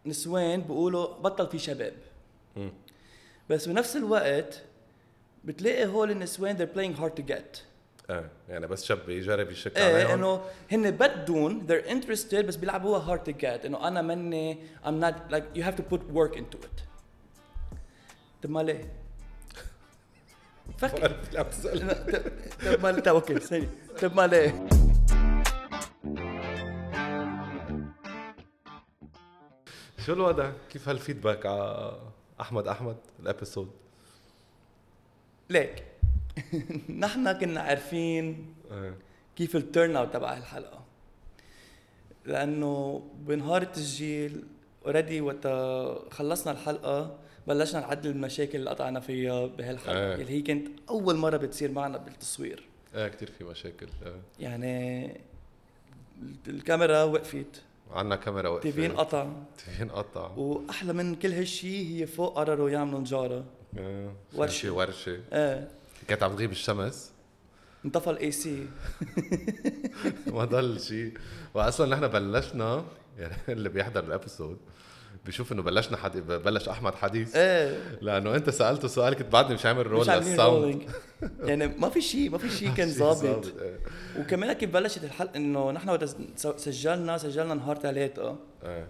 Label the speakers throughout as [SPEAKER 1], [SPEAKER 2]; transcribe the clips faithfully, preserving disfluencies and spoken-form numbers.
[SPEAKER 1] نسوان بيقولوا بطل في شباب
[SPEAKER 2] م.
[SPEAKER 1] بس بنفس الوقت بتلاقي هول النسوان they're playing hard to get.
[SPEAKER 2] اه يعني بس شاب يجرب يشك
[SPEAKER 1] ايه
[SPEAKER 2] عليهم
[SPEAKER 1] انه هن بدون they're interested بس بيلعبوها hard to get انه انا مني I'm not like you have to put work into it. طب ما ليه؟ فكر
[SPEAKER 2] لا بتسأل
[SPEAKER 1] طب ما طب اوكي ثاني طب ما ليه؟
[SPEAKER 2] شو الوضع؟ كيف هالفيدباك على احمد احمد الابيسود؟
[SPEAKER 1] ليك نحن كنا عارفين
[SPEAKER 2] اه
[SPEAKER 1] كيف التيرن اوت تبع الحلقه لانه بنهار التسجيل اوريدي وقت خلصنا الحلقه بلشنا نعدل المشاكل اللي قطعنا فيها بهالحلقه
[SPEAKER 2] آه.
[SPEAKER 1] اللي هي كانت اول مره بتصير معنا بالتصوير.
[SPEAKER 2] اه كتير في مشاكل. اه
[SPEAKER 1] يعني الكاميرا وقفت
[SPEAKER 2] عنا كاميرا وقفت
[SPEAKER 1] تيفين قطع
[SPEAKER 2] تيفين قطع
[SPEAKER 1] واحلى من كل هالشي هي فوق قرروا يعملوا نجاره
[SPEAKER 2] اه
[SPEAKER 1] ورشة.
[SPEAKER 2] ورشه
[SPEAKER 1] اه
[SPEAKER 2] كانت عم تغيب الشمس
[SPEAKER 1] انطفى الاي سي
[SPEAKER 2] ما ضل شيء. واصلا نحن بلشنا يعني اللي بيحضر الابيسود بيشوف انه بلشنا حدي... بلش احمد حديث
[SPEAKER 1] ايه
[SPEAKER 2] لانه انت سالته سؤال كنت بعدني مش عامل رول
[SPEAKER 1] مش عاملين
[SPEAKER 2] للساوند
[SPEAKER 1] rolling. يعني ما في شيء ما في شيء كان
[SPEAKER 2] شي
[SPEAKER 1] ظابط.
[SPEAKER 2] إيه.
[SPEAKER 1] وكمان كيف بلشت الحلقه انه نحن وقت سجلنا سجلنا نهار ثلاثة
[SPEAKER 2] ايه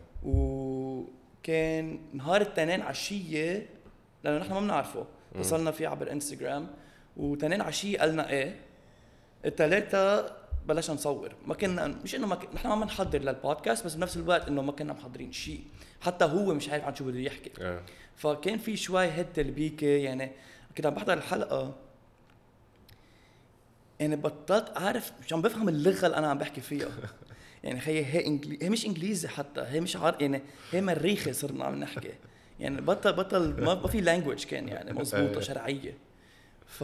[SPEAKER 1] وكان نهار التنين عشيه لانه نحن ما بنعرفه اتصلنا فيه عبر انستغرام وتنين عشيه قالنا ايه الثلاثة بلشنا نصور. ما كنا مش انه ما ك... نحن ما بنحضر للبودكاست بس بنفس الوقت انه ما كنا محضرين شيء حتى هو مش عارف عن شو بده يحكي.
[SPEAKER 2] ايه
[SPEAKER 1] فكان في شوي هيد تلبيكه. يعني كنت عم بحضر الحلقه يعني بطلت اعرف مش عم بفهم اللغه اللي انا عم بحكي فيها. يعني هي هي انجلي... هي مش انجليزي حتى هي مش عار... يعني هي مريخي صرنا عم نحكي. يعني بطل بطل ما, ما في لانجويج كان يعني مزبوطه شرعيه. ف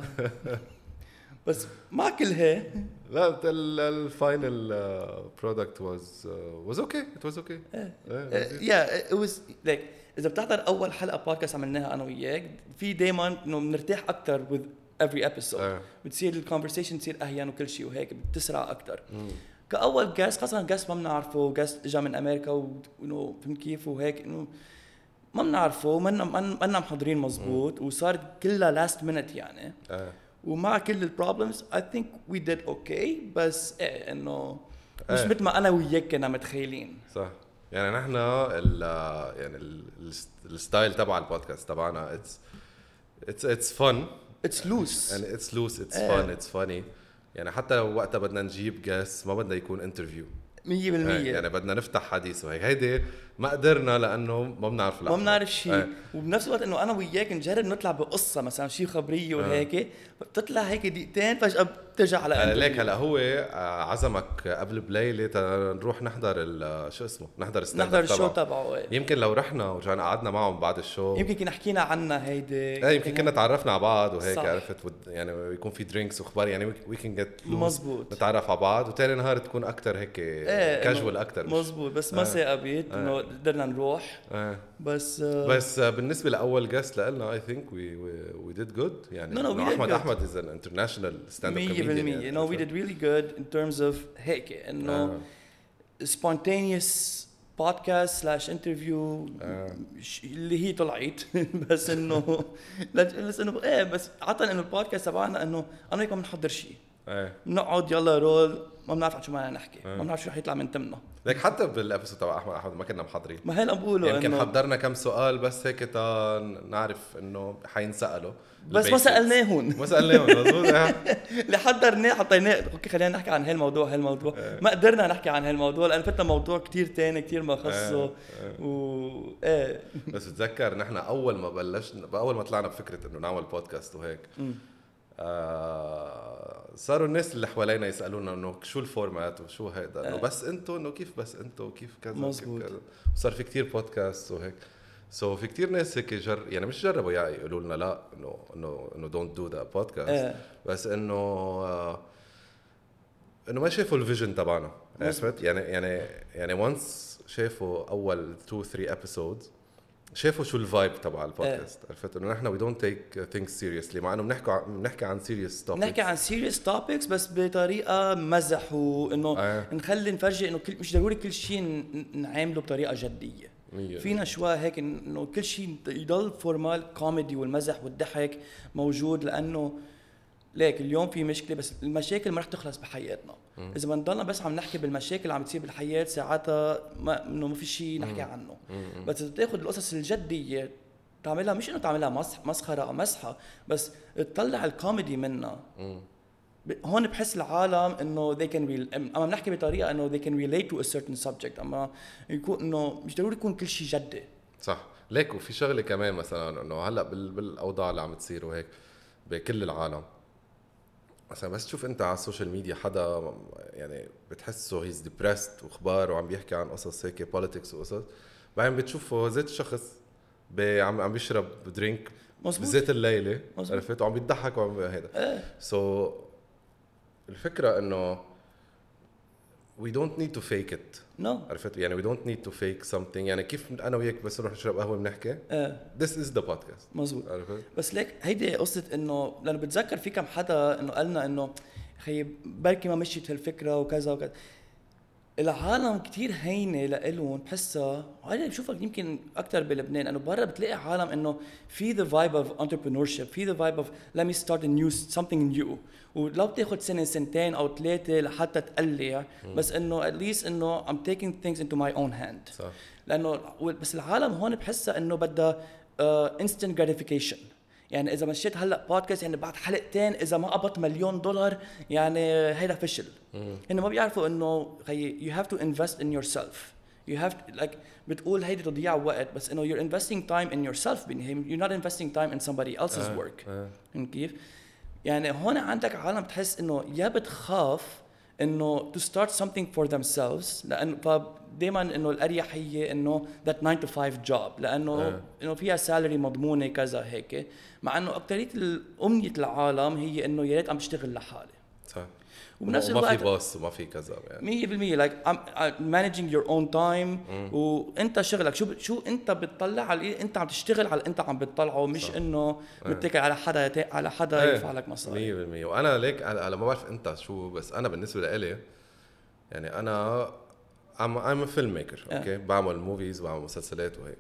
[SPEAKER 1] بس مع كل هي
[SPEAKER 2] لا الفاينل برودكت was was okay it was okay.
[SPEAKER 1] يا it was like اذا بتحضر اول حلقه بودكاست عملناها انا وياك في دايما انه بنرتاح اكثر with every episode.
[SPEAKER 2] آه.
[SPEAKER 1] بتصير الكونفرسيشن تصير اهين وكل شيء وهيك بتسرع اكثر. كاول جاست خاصه جاست ما بنعرفه جاست اجى من امريكا وانه فهمت كيف وهيك انه ما بنعرفه ما لنا محضرين مزبوط وصار كلها لاست مينت يعني.
[SPEAKER 2] آه.
[SPEAKER 1] ومع كل البروبلمز I think we did okay بس ايه انه مش
[SPEAKER 2] آه.
[SPEAKER 1] مثل ما انا وياك كنا متخيلين.
[SPEAKER 2] صح. يعني نحن ال يعني ال- الستايل تبع البودكاست تبعنا it's it's it's fun
[SPEAKER 1] It's loose
[SPEAKER 2] and it's loose it's
[SPEAKER 1] آه.
[SPEAKER 2] fun it's funny. يعني حتى لو وقتها بدنا نجيب guest ما بدنا يكون انترفيو
[SPEAKER 1] مية بالمية.
[SPEAKER 2] يعني بدنا نفتح حديث وهيك هيدي ما قدرنا لانه ما بنعرف
[SPEAKER 1] ما بنعرف شيء.
[SPEAKER 2] آه.
[SPEAKER 1] وبنفس الوقت انه انا وياك نجرب نطلع بقصه مثلا شيء خبريه وهيك بتطلع هيك دقيقتين فجاه بترجع على
[SPEAKER 2] آه
[SPEAKER 1] انترفيو.
[SPEAKER 2] ليك هلا هو آه، عزمك قبل بليله نروح نحضر ال- شو اسمه نحضر ستاند
[SPEAKER 1] نحضر الشو تبعه. ايه.
[SPEAKER 2] يمكن لو رحنا ورجعنا قعدنا معهم بعد الشو
[SPEAKER 1] يمكن كنا حكينا عنها هيدي
[SPEAKER 2] ايه يمكن كنا تعرفنا على بعض وهيك
[SPEAKER 1] صح.
[SPEAKER 2] عرفت ود يعني يكون في درينكس واخبار يعني وي كان جيت
[SPEAKER 1] مزبوط.
[SPEAKER 2] نتعرف على بعض وتاني نهار تكون اكثر هيك
[SPEAKER 1] ايه
[SPEAKER 2] كاجوال اكثر
[SPEAKER 1] مزبوط بس ما ثاقبت انه قدرنا نروح
[SPEAKER 2] آه.
[SPEAKER 1] بس
[SPEAKER 2] بس آه، بالنسبه لاول جاست لنا اي ثينك وي وي ديد جود يعني
[SPEAKER 1] No, no, we
[SPEAKER 2] إنه
[SPEAKER 1] did
[SPEAKER 2] احمد
[SPEAKER 1] good.
[SPEAKER 2] احمد از ان انترناشونال ستاند اب
[SPEAKER 1] مية
[SPEAKER 2] كوميديان
[SPEAKER 1] بالمية. No, we did really good in terms of هيك انه spontaneous podcast slash interview ش- اللي هي طلعت بس انه لا- بس انه ايه بس عطنا انه البودكاست تبعنا انه انا وياك ما بنحضر شيء
[SPEAKER 2] ايه
[SPEAKER 1] بنقعد يلا رول ما بنعرف عن شو بدنا نحكي ما بنعرف شو رح يطلع من تمنا.
[SPEAKER 2] ليك حتى بالابيسود تبع احمد احمد ما كنا محضرين
[SPEAKER 1] ما هي اللي عم بقوله
[SPEAKER 2] يمكن
[SPEAKER 1] انه
[SPEAKER 2] حضرنا كم سؤال بس هيك تا نعرف انه حينسالوا
[SPEAKER 1] بس ما سالناهم
[SPEAKER 2] ما سالناهم مزبوط إيه.
[SPEAKER 1] اللي حضرناه حطيناه اوكي خلينا نحكي عن هالموضوع هالموضوع ما قدرنا نحكي عن هالموضوع لانه فتنا موضوع كتير تاني كتير ما خصه و ايه
[SPEAKER 2] بس بتذكر نحن اول ما بلشنا اول ما طلعنا بفكره انه نعمل بودكاست وهيك آه صاروا الناس اللي حوالينا يسالونا انه شو الفورمات وشو هيدا انه بس انتو انه كيف بس انتو كيف كذا
[SPEAKER 1] مزبوط.
[SPEAKER 2] كيف كذا وصار في كتير بودكاست وهيك سو so في كتير ناس هيك جر يعني مش جربوا يعني يقولوا لنا لا انه انه انه دونت دو ذا بودكاست بس انه آه انه ما شافوا الفيجن تبعنا عرفت يعني يعني يعني وانس شافوا اول two three episodes شافوا شو الفايب تبع البودكاست عرفت انه نحن وي دونت تيك ثينكس سيريسلي مع انه بنحكي بنحكي عن سيريس توبكس
[SPEAKER 1] نحكي عن سيريس توبكس بس بطريقه مزح وانه
[SPEAKER 2] آه.
[SPEAKER 1] نخلي نفرجي انه كل مش ضروري كل شيء نعامله بطريقه جديه. فينا شوي هيك انه كل شيء يضل فورمال كوميدي والمزح والضحك موجود لانه ليك اليوم في مشكله بس المشاكل ما رح تخلص بحياتنا. م. اذا بنضلنا بس عم نحكي بالمشاكل اللي عم تصير بالحياه ساعتها ما انه ما في شيء نحكي عنه. م. بس اذا تاخذ القصص الجديه تعملها مش انه تعملها مسخره او مسحه بس تطلع الكوميدي منها. م. هون بحس العالم انه they can re... اما بنحكي بطريقه انه they can relate to a certain subject اما يكون انه مش ضروري يكون كل شيء جدي.
[SPEAKER 2] صح ليك. وفي شغله كمان مثلا انه هلا بال... بالاوضاع اللي عم تصير وهيك بكل العالم مثلا بس تشوف انت على السوشيال ميديا حدا يعني بتحسه هيز ديبرست واخبار وعم بيحكي عن قصص هيك بوليتكس وقصص بعدين بتشوفه زيت الشخص عم عم بيشرب درينك بزيت الليله عرفت وعم بيضحك وعم هيدا سو so, الفكره انه we don't need to fake it.
[SPEAKER 1] no
[SPEAKER 2] عرفت يعني we don't need to fake something يعني كيف انا وياك بس نروح نشرب قهوه بنحكي
[SPEAKER 1] اه.
[SPEAKER 2] this is the podcast
[SPEAKER 1] مزبوط. بس ليك هيدي قصه انه لانه بتذكر في كم حدا انه قالنا انه خي بركي ما مشيت هالفكره وكذا وكذا. العالم كتير هينه لإلهم بحسها هاي بشوفك يمكن اكثر بلبنان انه برا بتلاقي عالم انه في the vibe of entrepreneurship في the vibe of let me start a new something new ولو بتاخد سنه سنتين او ثلاثه لحتى تقلع بس انه at least انه I'm taking things into my own hand.
[SPEAKER 2] صح.
[SPEAKER 1] لانه بس العالم هون بحسها انه بدها uh, instant gratification. يعني اذا مشيت هلا بودكاست يعني بعد حلقتين اذا ما قبضت مليون دولار يعني هيدا فشل. هن ما بيعرفوا انه خي you have to invest in yourself. you have to, like بتقول هيدي تضييع وقت بس انه you're investing time in yourself you're not investing time in somebody else's
[SPEAKER 2] آه.
[SPEAKER 1] work.
[SPEAKER 2] آه.
[SPEAKER 1] كيف يعني هون عندك عالم تحس انه يا بتخاف انه to start something for themselves لانه فدائما انه الاريحيه انه that nine to five job لانه
[SPEAKER 2] آه.
[SPEAKER 1] انه فيها سالري مضمونه كذا هيك مع انه اكثريه امنيه العالم هي انه يا ريت عم بشتغل لحالي.
[SPEAKER 2] صح.
[SPEAKER 1] وبنفس
[SPEAKER 2] الوقت ما
[SPEAKER 1] الوقت
[SPEAKER 2] في باص وما في كذا يعني
[SPEAKER 1] مية بالمية like I'm, I'm managing your own time. مم. وانت شغلك شو شو انت بتطلع على انت عم تشتغل على انت عم بتطلعه مش صح. انه متكل على حدا على حدا ايه. يدفع لك مصاري.
[SPEAKER 2] مية بالمية. وانا ليك على ما بعرف انت شو بس انا بالنسبه لي يعني انا I'm I'm a filmmaker اوكي okay. بعمل موفيز وبعمل مسلسلات وهيك.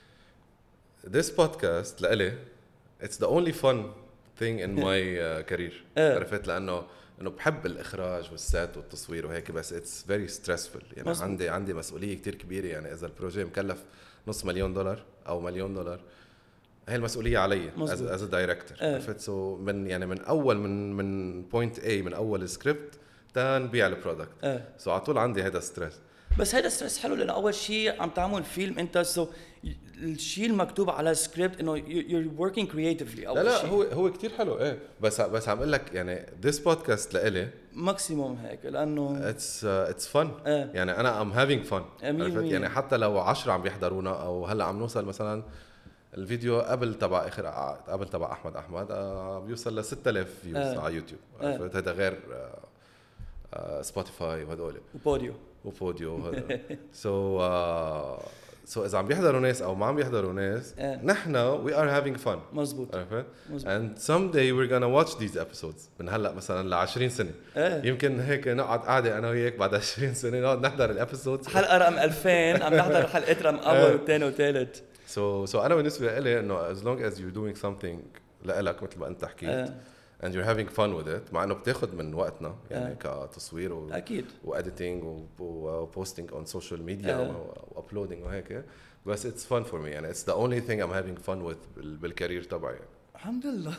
[SPEAKER 2] This podcast لإلي it's the only fun thing in my uh, career. عرفت لانه انه بحب الاخراج والسات والتصوير وهيك بس اتس فيري ستريسفul يعني مصبوط. عندي عندي مسؤوليه كتير كبيره يعني اذا البروجي مكلف نص مليون دولار او مليون دولار هي المسؤوليه علي از از دايركتور. عرفت سو من يعني من اول من من بوينت اي من اول سكريبت تنبيع البرودكت اه. سو على طول عندي هذا ستريس.
[SPEAKER 1] بس هذا ستريس حلو لانه اول شيء عم تعمل فيلم انت سو الشيء المكتوب على السكريبت انه you're working creatively اول
[SPEAKER 2] لا لا
[SPEAKER 1] شيء.
[SPEAKER 2] هو هو كتير حلو ايه بس بس عم اقول لك يعني this podcast لإلي
[SPEAKER 1] ماكسيموم هيك لانه
[SPEAKER 2] it's uh, it's fun اه. يعني انا I'm having fun. عرفت يعني حتى لو عشرة عم بيحضرونا او هلا عم نوصل مثلا الفيديو قبل تبع اخر قبل تبع احمد احمد آه بيوصل ل ستة آلاف فيوز اه. على يوتيوب. عرفت هذا غير آه آه سبوتيفاي وهدول
[SPEAKER 1] وبوديو
[SPEAKER 2] وبوديو هذا سو سو اذا عم بيحضروا ناس او ما عم بيحضروا ناس اه. نحن we are having fun.
[SPEAKER 1] مزبوط.
[SPEAKER 2] عرفت and someday we're gonna watch these episodes من هلا مثلا ل عشرين سنه اه. يمكن هيك نقعد قاعده انا وياك بعد عشرين سنه نقعد نحضر الابيسودز
[SPEAKER 1] حلقه رقم ألفين عم نحضر حلقات رقم اول وثاني وثالث.
[SPEAKER 2] سو سو انا بالنسبه لي انه as long as you're doing something لإلك مثل ما انت حكيت اه. and you're having fun with it مع انه بتاخد من وقتنا يعني اه. كتصوير و
[SPEAKER 1] اكيد
[SPEAKER 2] واديتنج وبوستينج on social media اه. وابلودينج وهيك بس it's fun for me يعني it's the only thing I'm having fun with بالكارير تبعي يعني.
[SPEAKER 1] الحمد لله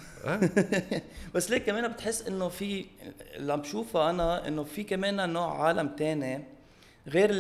[SPEAKER 1] بس ليك كمان بتحس انه في اللي عم بشوفه انا انه في كمان نوع عالم تاني غير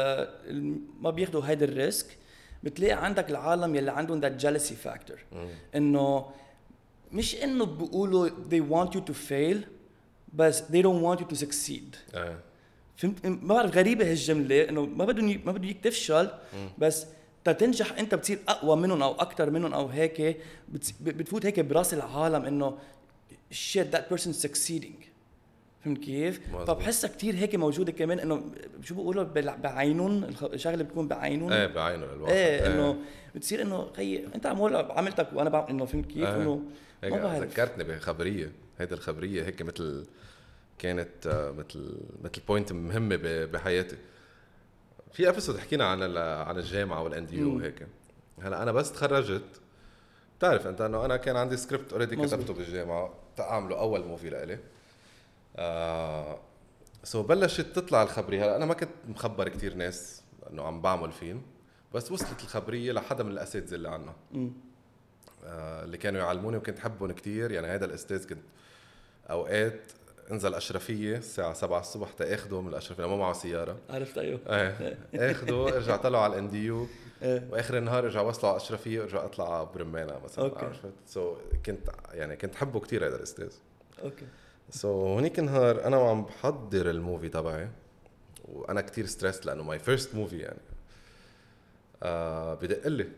[SPEAKER 1] ما بياخدوا هيدا الريسك. بتلاقي عندك العالم يلي عندهم that jealousy factor انه مش انه بيقولوا they want you to fail بس they don't want you to succeed.
[SPEAKER 2] اه.
[SPEAKER 1] فهمت ما بعرف غريبه هالجمله انه ما بدهم ما بدهم اياك تفشل بس تنجح انت بتصير اقوى منهم او اكثر منهم او هيك بتفوت هيك براس العالم انه shit that person succeeding. فهمت كيف؟ فبحسها كتير هيك موجوده كمان انه شو بيقولوا بعينهم الشغله بتكون بعينهم
[SPEAKER 2] ايه بعينهم الواحد
[SPEAKER 1] ايه انه بتصير انه خي انت عمول عملتك وانا بعمل انه فهمت كيف
[SPEAKER 2] اه.
[SPEAKER 1] انه
[SPEAKER 2] ما بعرف. ذكرتني بخبريه هيدا الخبريه هيك مثل كانت مثل مثل بوينت مهمه بحياتي في ابيسود حكينا عن عن الجامعه والان دي يو وهيك. هلا انا بس تخرجت بتعرف انت انه انا كان عندي سكريبت اوريدي كتبته بالجامعه تعامله اول موفي لإلي. آه سو بلشت تطلع الخبريه. هلا انا ما كنت مخبر كتير ناس انه عم بعمل فيلم، بس وصلت الخبريه لحدا من الاساتذه اللي عنا آه اللي كانوا يعلموني وكنت احبهم كتير. يعني هذا الاستاذ كنت اوقات انزل اشرفيه الساعه سبعة الصبح تاخده من الاشرفيه، ما معه سياره.
[SPEAKER 1] عرفت ايوه
[SPEAKER 2] ايه اخده ارجع طلعه على الان دي يو
[SPEAKER 1] إيه.
[SPEAKER 2] واخر النهار ارجع وصله على اشرفيه وارجع اطلع برمانه مثلا.
[SPEAKER 1] أوكي.
[SPEAKER 2] عرفت سو so, كنت يعني كنت حبه كتير هذا الاستاذ.
[SPEAKER 1] اوكي
[SPEAKER 2] سو so, هونيك نهار انا وعم بحضر الموفي تبعي وانا كتير ستريس لانه ماي فيرست موفي يعني. آه بدق لي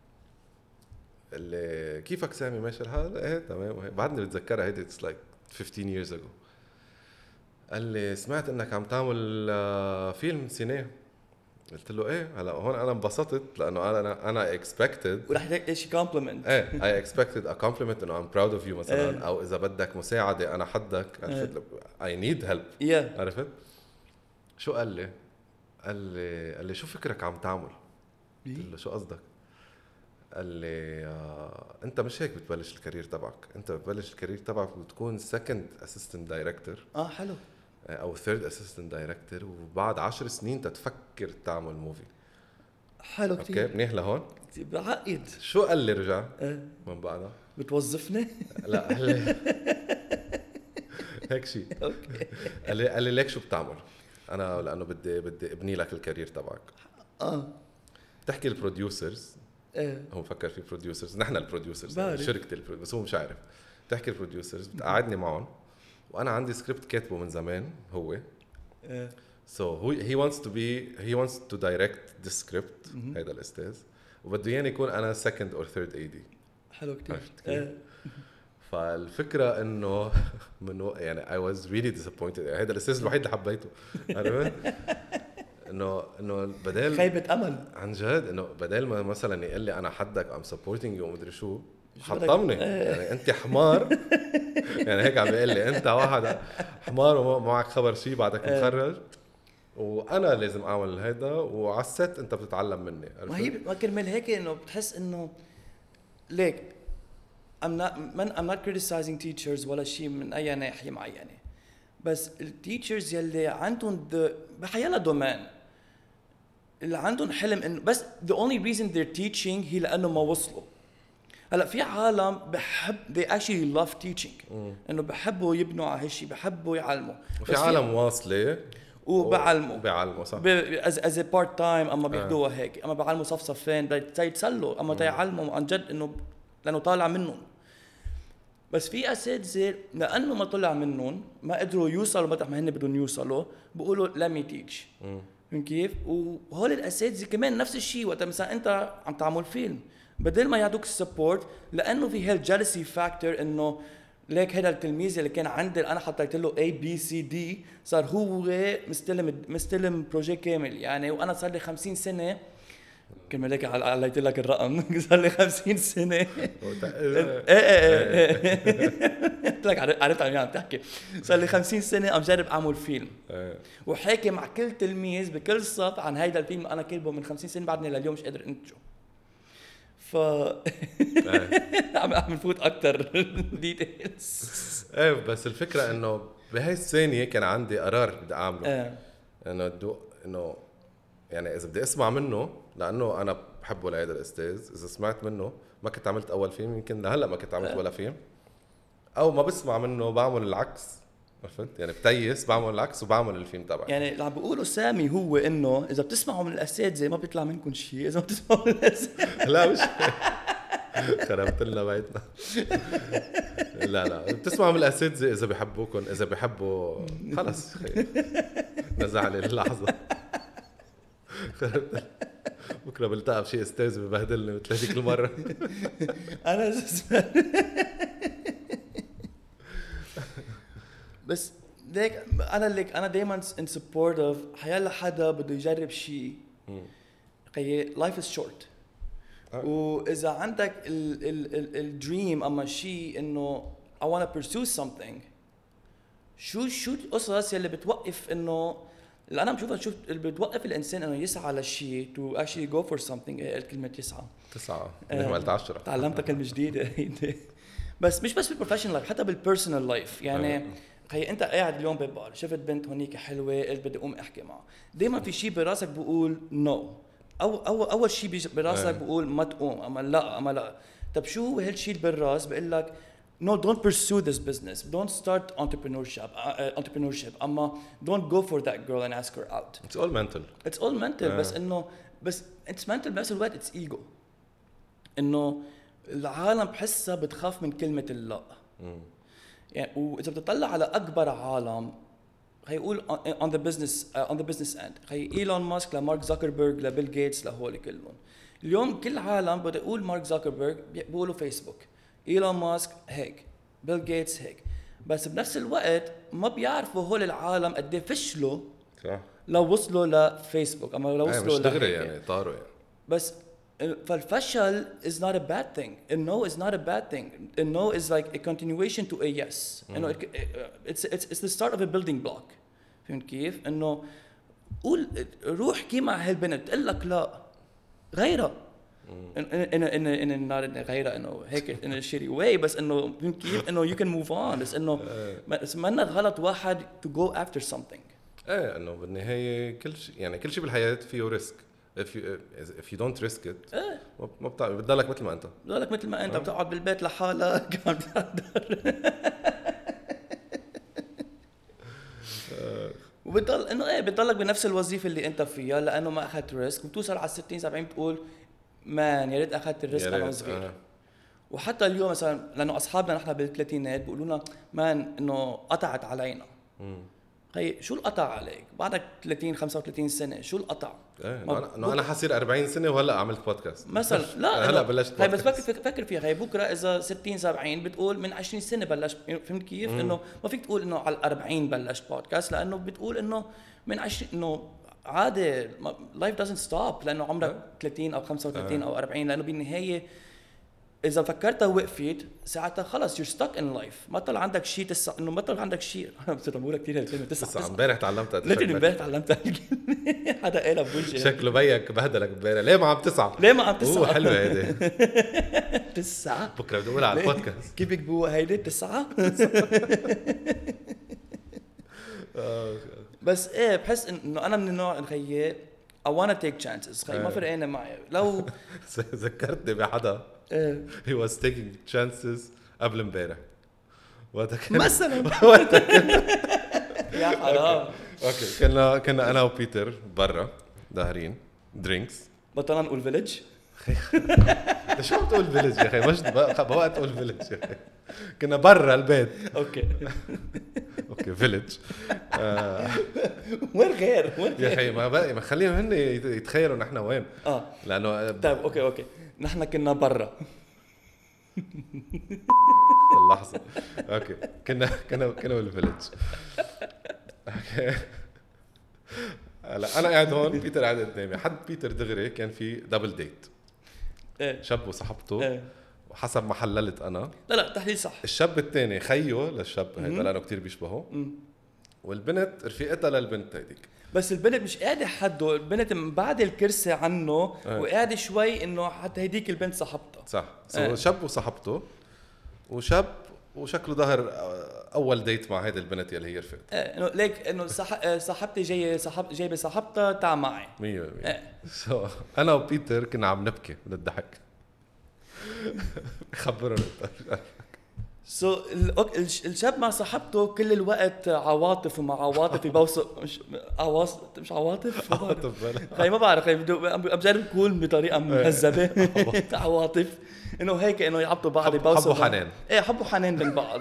[SPEAKER 2] اللي كيفك سامي ماشي الحال؟ ايه تمام. بعدني بتذكرها هيدي اتس لايك خمستاشر years ago. قال لي سمعت انك عم تعمل آه فيلم سينما. قلت له ايه. هلا هون انا انبسطت لانه انا انا اكسبكتد
[SPEAKER 1] ورح يديك شيء كومبلمنت.
[SPEAKER 2] ايه اي اكسبكتد ا كومبلمنت انه ام براود اوف يو مثلا.
[SPEAKER 1] إيه.
[SPEAKER 2] او اذا بدك مساعده انا حدك. عرفت اي نيد هيلب.
[SPEAKER 1] yeah.
[SPEAKER 2] عرفت شو قال لي؟ قال لي قال لي شو فكرك عم تعمل؟ قلت له شو قصدك؟ قال لي آه، انت مش هيك بتبلش الكارير تبعك. انت بتبلش الكارير تبعك وتكون سكند اسيستنت دايركتور
[SPEAKER 1] اه حلو
[SPEAKER 2] او ثيرد اسيستنت دايركتور وبعد عشر سنين تتفكر تعمل موفي.
[SPEAKER 1] حلو كتير.
[SPEAKER 2] اوكي منيح لهون.
[SPEAKER 1] بعقد.
[SPEAKER 2] شو قال لي رجع
[SPEAKER 1] ايه.
[SPEAKER 2] من بعدها؟
[SPEAKER 1] بتوظفني؟
[SPEAKER 2] لا قال لي هيك شيء.
[SPEAKER 1] اوكي.
[SPEAKER 2] قال لي قال لي ليك شو بتعمل؟ انا لانه بدي بدي ابني لك الكارير تبعك.
[SPEAKER 1] اه
[SPEAKER 2] تحكي البروديوسرز.
[SPEAKER 1] ايه.
[SPEAKER 2] هو مفكر في بروديوسرز، نحن البروديوسرز
[SPEAKER 1] بعرف.
[SPEAKER 2] شركه البرو... بس هو مش عارف. تحكي البروديوسرز بتقعدني معهم وانا عندي سكريبت كاتبه من زمان هو.
[SPEAKER 1] ايه.
[SPEAKER 2] so he he wants to be he wants to direct this script. هذا الاستاذ وبده يعني يكون انا second or third إيه دي.
[SPEAKER 1] حلو كتير.
[SPEAKER 2] عرفت كيف؟
[SPEAKER 1] ايه.
[SPEAKER 2] فالفكره انه من يعني I was really disappointed. هذا الاستاذ الوحيد اللي حبيته. عرفت انه انه بدل
[SPEAKER 1] خيبة امل
[SPEAKER 2] عن جد انه بدل ما مثلا يقول لي انا حدك ام سبورتنج يو مدري شو
[SPEAKER 1] شو بدك؟
[SPEAKER 2] حطمني. يعني انت حمار. يعني هيك عم بيقول لي انت واحد حمار وما معك خبر شيء بعدك مخرج وانا لازم اعمل هيدا وعلى الست انت بتتعلم مني.
[SPEAKER 1] ما هي ما كرمال هيك انه بتحس انه ليك I'm not من I'm not criticizing teachers ولا شيء من اي ناحيه معينه، بس التيتشرز يلي عندهم بحيلا دومين اللي عندهم حلم انه بس the only reason they're teaching هي لانه ما وصلوا. هلا في عالم بحب they actually love teaching انه بحبوا يبنوا على هالشيء، بحبوا يعلموا.
[SPEAKER 2] وفي عالم واصله
[SPEAKER 1] وبعلموا
[SPEAKER 2] بعلموا صح
[SPEAKER 1] از از بارت تايم اما بياخذوها هيك، اما بعلموا صفصفين تيتسلوا اما تيعلموا عن جد انه لانه طالع منهم. بس في اساتذه لانه ما طلع منهم ما قدروا يوصلوا مطرح ما هن بدهم يوصلوا بيقولوا let me teach. من كيف؟ وهول الاساتذه كمان نفس الشيء وقت مثلا انت عم تعمل فيلم بدل ما يعطوك السبورت لانه في هالجلسي فاكتور انه ليك هذا التلميذ اللي كان عندي انا حطيت له A B C D صار هو مستلم مستلم بروجي كامل يعني. وانا صار لي خمسين سنه كما لك عليت لك الرقم صار لي خمسين سنه. ايه ايه قلت لك عرفت عن عم تحكي. صار لي خمسين سنه عم جرب اعمل فيلم وحكي مع كل تلميذ بكل صف عن هيدا الفيلم انا كاتبه من خمسين سنه بعدني لليوم مش قادر انتجه. ف عم عم نفوت اكثر ديتيلز.
[SPEAKER 2] ايه بس الفكره انه بهاي الثانيه كان عندي قرار بدي اعمله.
[SPEAKER 1] ايه
[SPEAKER 2] انه دو انه يعني اذا بدي اسمع منه لانه انا بحبه لهذا الاستاذ، اذا سمعت منه ما كنت عملت اول فيلم يمكن لهلا ما كنت عملت ولا فيلم، او ما بسمع منه بعمل العكس. عرفت يعني بتيس بعمل العكس وبعمل الفيلم تبعي.
[SPEAKER 1] يعني اللي عم بيقولوا سامي هو انه اذا بتسمعوا من الاساتذه ما بيطلع منكم شيء، اذا ما بتسمعوا من الاساتذه
[SPEAKER 2] لا مش خربت لنا بيتنا. لا لا بتسمعوا من الاساتذه اذا بيحبوكم، اذا بيحبوا خلص نزع لي اللحظه. خربت بكره بلتقى بشي استاذ ببهدلني مثل هذيك المره.
[SPEAKER 1] انا بس ليك انا ليك انا دائما ان سبورت اوف حيلا حدا بده يجرب شيء. قي لايف از شورت، واذا عندك الدريم اما شيء انه I want to pursue something، شو شو القصص يلي بتوقف انه اللي انا بشوفها شوف اللي بتوقف الانسان انه يسعى لشيء to actually go for something هي كلمه يسعى.
[SPEAKER 2] تسعة منيح قلت عشرة.
[SPEAKER 1] تعلمتها كلمه جديده. بس مش بس بالبروفيشنال لايف، حتى بالبيرسونال لايف. يعني خي انت قاعد اليوم ببار شفت بنت هونيك حلوه قلت بدي اقوم احكي معها، دائما في شيء براسك بقول نو. او اول اول شيء براسك بقول ما تقوم، اما لا اما لا. طب شو هو هالشيء اللي بالراس بقول لك no, don't pursue this business, don't start entrepreneurship uh, entrepreneurship اما don't go for that girl and ask her out.
[SPEAKER 2] It's all mental.
[SPEAKER 1] It's all mental.
[SPEAKER 2] uh.
[SPEAKER 1] بس انه بس it's mental بنفس الوقت it's ego. انه العالم بحسها بتخاف من كلمه اللا. يعني واذا بتطلع على اكبر عالم هيقول on the business uh, on the business end هي ايلون ماسك لمارك زوكربيرج لبيل جيتس لهول كلهم. اليوم كل عالم بده يقول مارك زوكربيرج بيقولوا فيسبوك، ايلون ماسك هيك، بيل جيتس هيك. بس بنفس الوقت ما بيعرفوا هول العالم قد ايه فشلوا
[SPEAKER 2] صح
[SPEAKER 1] لو وصلوا لفيسبوك اما لو وصلوا
[SPEAKER 2] دغري يعني طاروا يعني.
[SPEAKER 1] بس فالفشل is not a bad thing. A no is not a bad thing. A no is like a continuation to a yes. You know, it, it's it's it's the start of a building block. فهمت كيف؟ إنه قول روح كي مع هالبنت تقول لك لا غيرها. إن إن إن إن إن غيرها إنه هيك إن شيري way بس إنه فهمت كيف؟ إنه you can move on. بس إنه بس ما غلط واحد to go after something.
[SPEAKER 2] إيه إنه بالنهاية كل شيء يعني كل شيء بالحياة فيه ريسك. if you if you don't risk it
[SPEAKER 1] إيه.
[SPEAKER 2] ما بتعرف بتضلك مثل ما انت
[SPEAKER 1] بتضلك مثل ما انت أه. بتقعد بالبيت لحالك عم تحضر وبتضل انه ايه بتضلك بنفس الوظيفه اللي انت فيها لانه ما اخذت ريسك، وبتوصل على ستين سبعين بتقول مان يا ريت اخذت الريسك انا صغير. أه. وحتى اليوم مثلا لانه اصحابنا نحن بالثلاثينات بيقولوا لنا مان انه قطعت علينا. امم هي شو القطع عليك بعدك ثلاثين خمسة وثلاثين سنه؟ شو القطع؟
[SPEAKER 2] ايه انا انا حصير أربعين سنه وهلا عملت بودكاست
[SPEAKER 1] مثلا. لا
[SPEAKER 2] هلا بلشت
[SPEAKER 1] هي بس فكر فكر فيها. هي بكره اذا ستين سبعين بتقول من عشرين سنه بلشت. فهمت كيف؟ انه ما فيك تقول انه على الأربعين بلشت بودكاست لانه بتقول انه من عشرين انه عادي life doesn't stop لانه عمرك ثلاثين او خمسة وثلاثين او أربعين لانه بالنهايه إذا فكرتها وقفت ساعتها خلص you're stuck in life. ما طلع عندك شيء تسع إنه ما طلع عندك شيء. أنا بتقولها كثير هالكلمة تسع.
[SPEAKER 2] تسع امبارح تعلمتها.
[SPEAKER 1] لكن امبارح تعلمتها الكلمة. حدا قالها بوجهي.
[SPEAKER 2] شكله بيك بهدلك امبارح. ليه ما عم تسعة؟
[SPEAKER 1] ليه ما عم تسعة؟
[SPEAKER 2] هو حلوة هيدي.
[SPEAKER 1] تسعة.
[SPEAKER 2] بكرة بدي أقولها على البودكاست.
[SPEAKER 1] كيف بيكتبوها هيدي تسعة؟ بس إيه بحس إنه أنا من النوع الخيي I wanna take chances. خي ما فرقنا معي. لو
[SPEAKER 2] ذكرتني بحدا. he was taking chances قبل امبارح وقتها كان
[SPEAKER 1] مثلا يا حرام.
[SPEAKER 2] اوكي كنا كنا انا وبيتر برا داهرين درينكس.
[SPEAKER 1] بطلنا نقول فيليج.
[SPEAKER 2] شو عم تقول فيليج يا اخي؟ مش بوقت تقول فيليج يا اخي. كنا برا البيت.
[SPEAKER 1] اوكي
[SPEAKER 2] اوكي فيليج.
[SPEAKER 1] وين غير وين
[SPEAKER 2] يا اخي ما بقى ما خليهم هن يتخيلوا نحن وين.
[SPEAKER 1] اه
[SPEAKER 2] لانه
[SPEAKER 1] طيب اوكي اوكي نحن كنا برا
[SPEAKER 2] اللحظه. اوكي كنا كنا كنا بالفيليج. اوكي هلا انا قاعد هون بيتر قاعد قدامي. حد بيتر دغري كان في دبل ديت.
[SPEAKER 1] ايه
[SPEAKER 2] شاب وصاحبته. ايه وحسب ما حللت انا
[SPEAKER 1] لا لا تحليل صح.
[SPEAKER 2] الشاب الثاني خيه للشاب هيدا لانه كتير بيشبهه. والبنت رفيقتها للبنت هيديك.
[SPEAKER 1] بس البنت مش قاعده حده. البنت بعد الكرسي عنه اه. وقاعده شوي انه حتى هيديك البنت صاحبتها.
[SPEAKER 2] صح اه. شاب وصاحبته وشاب وشكله ظهر اول ديت مع هيدي البنت يلي هي رفقت.
[SPEAKER 1] ايه انه ليك انه صح... صاحبتي جايه صاحب جايبه صاحبتها تعا معي
[SPEAKER 2] مية بالمية. ايه. سو انا وبيتر كنا عم نبكي من الضحك. خبرنا
[SPEAKER 1] سو so, الشاب مع صاحبته كل الوقت عواطف ومع عواطف يبوسوا مش عواطف مش عواطف
[SPEAKER 2] عواطف
[SPEAKER 1] خي ما بعرف خي بجرب اكون بطريقه مهذبه. عواطف انه هيك انه يعطوا بعض يبوسوا
[SPEAKER 2] حبوا حنان.
[SPEAKER 1] ايه حبوا حنان من بعض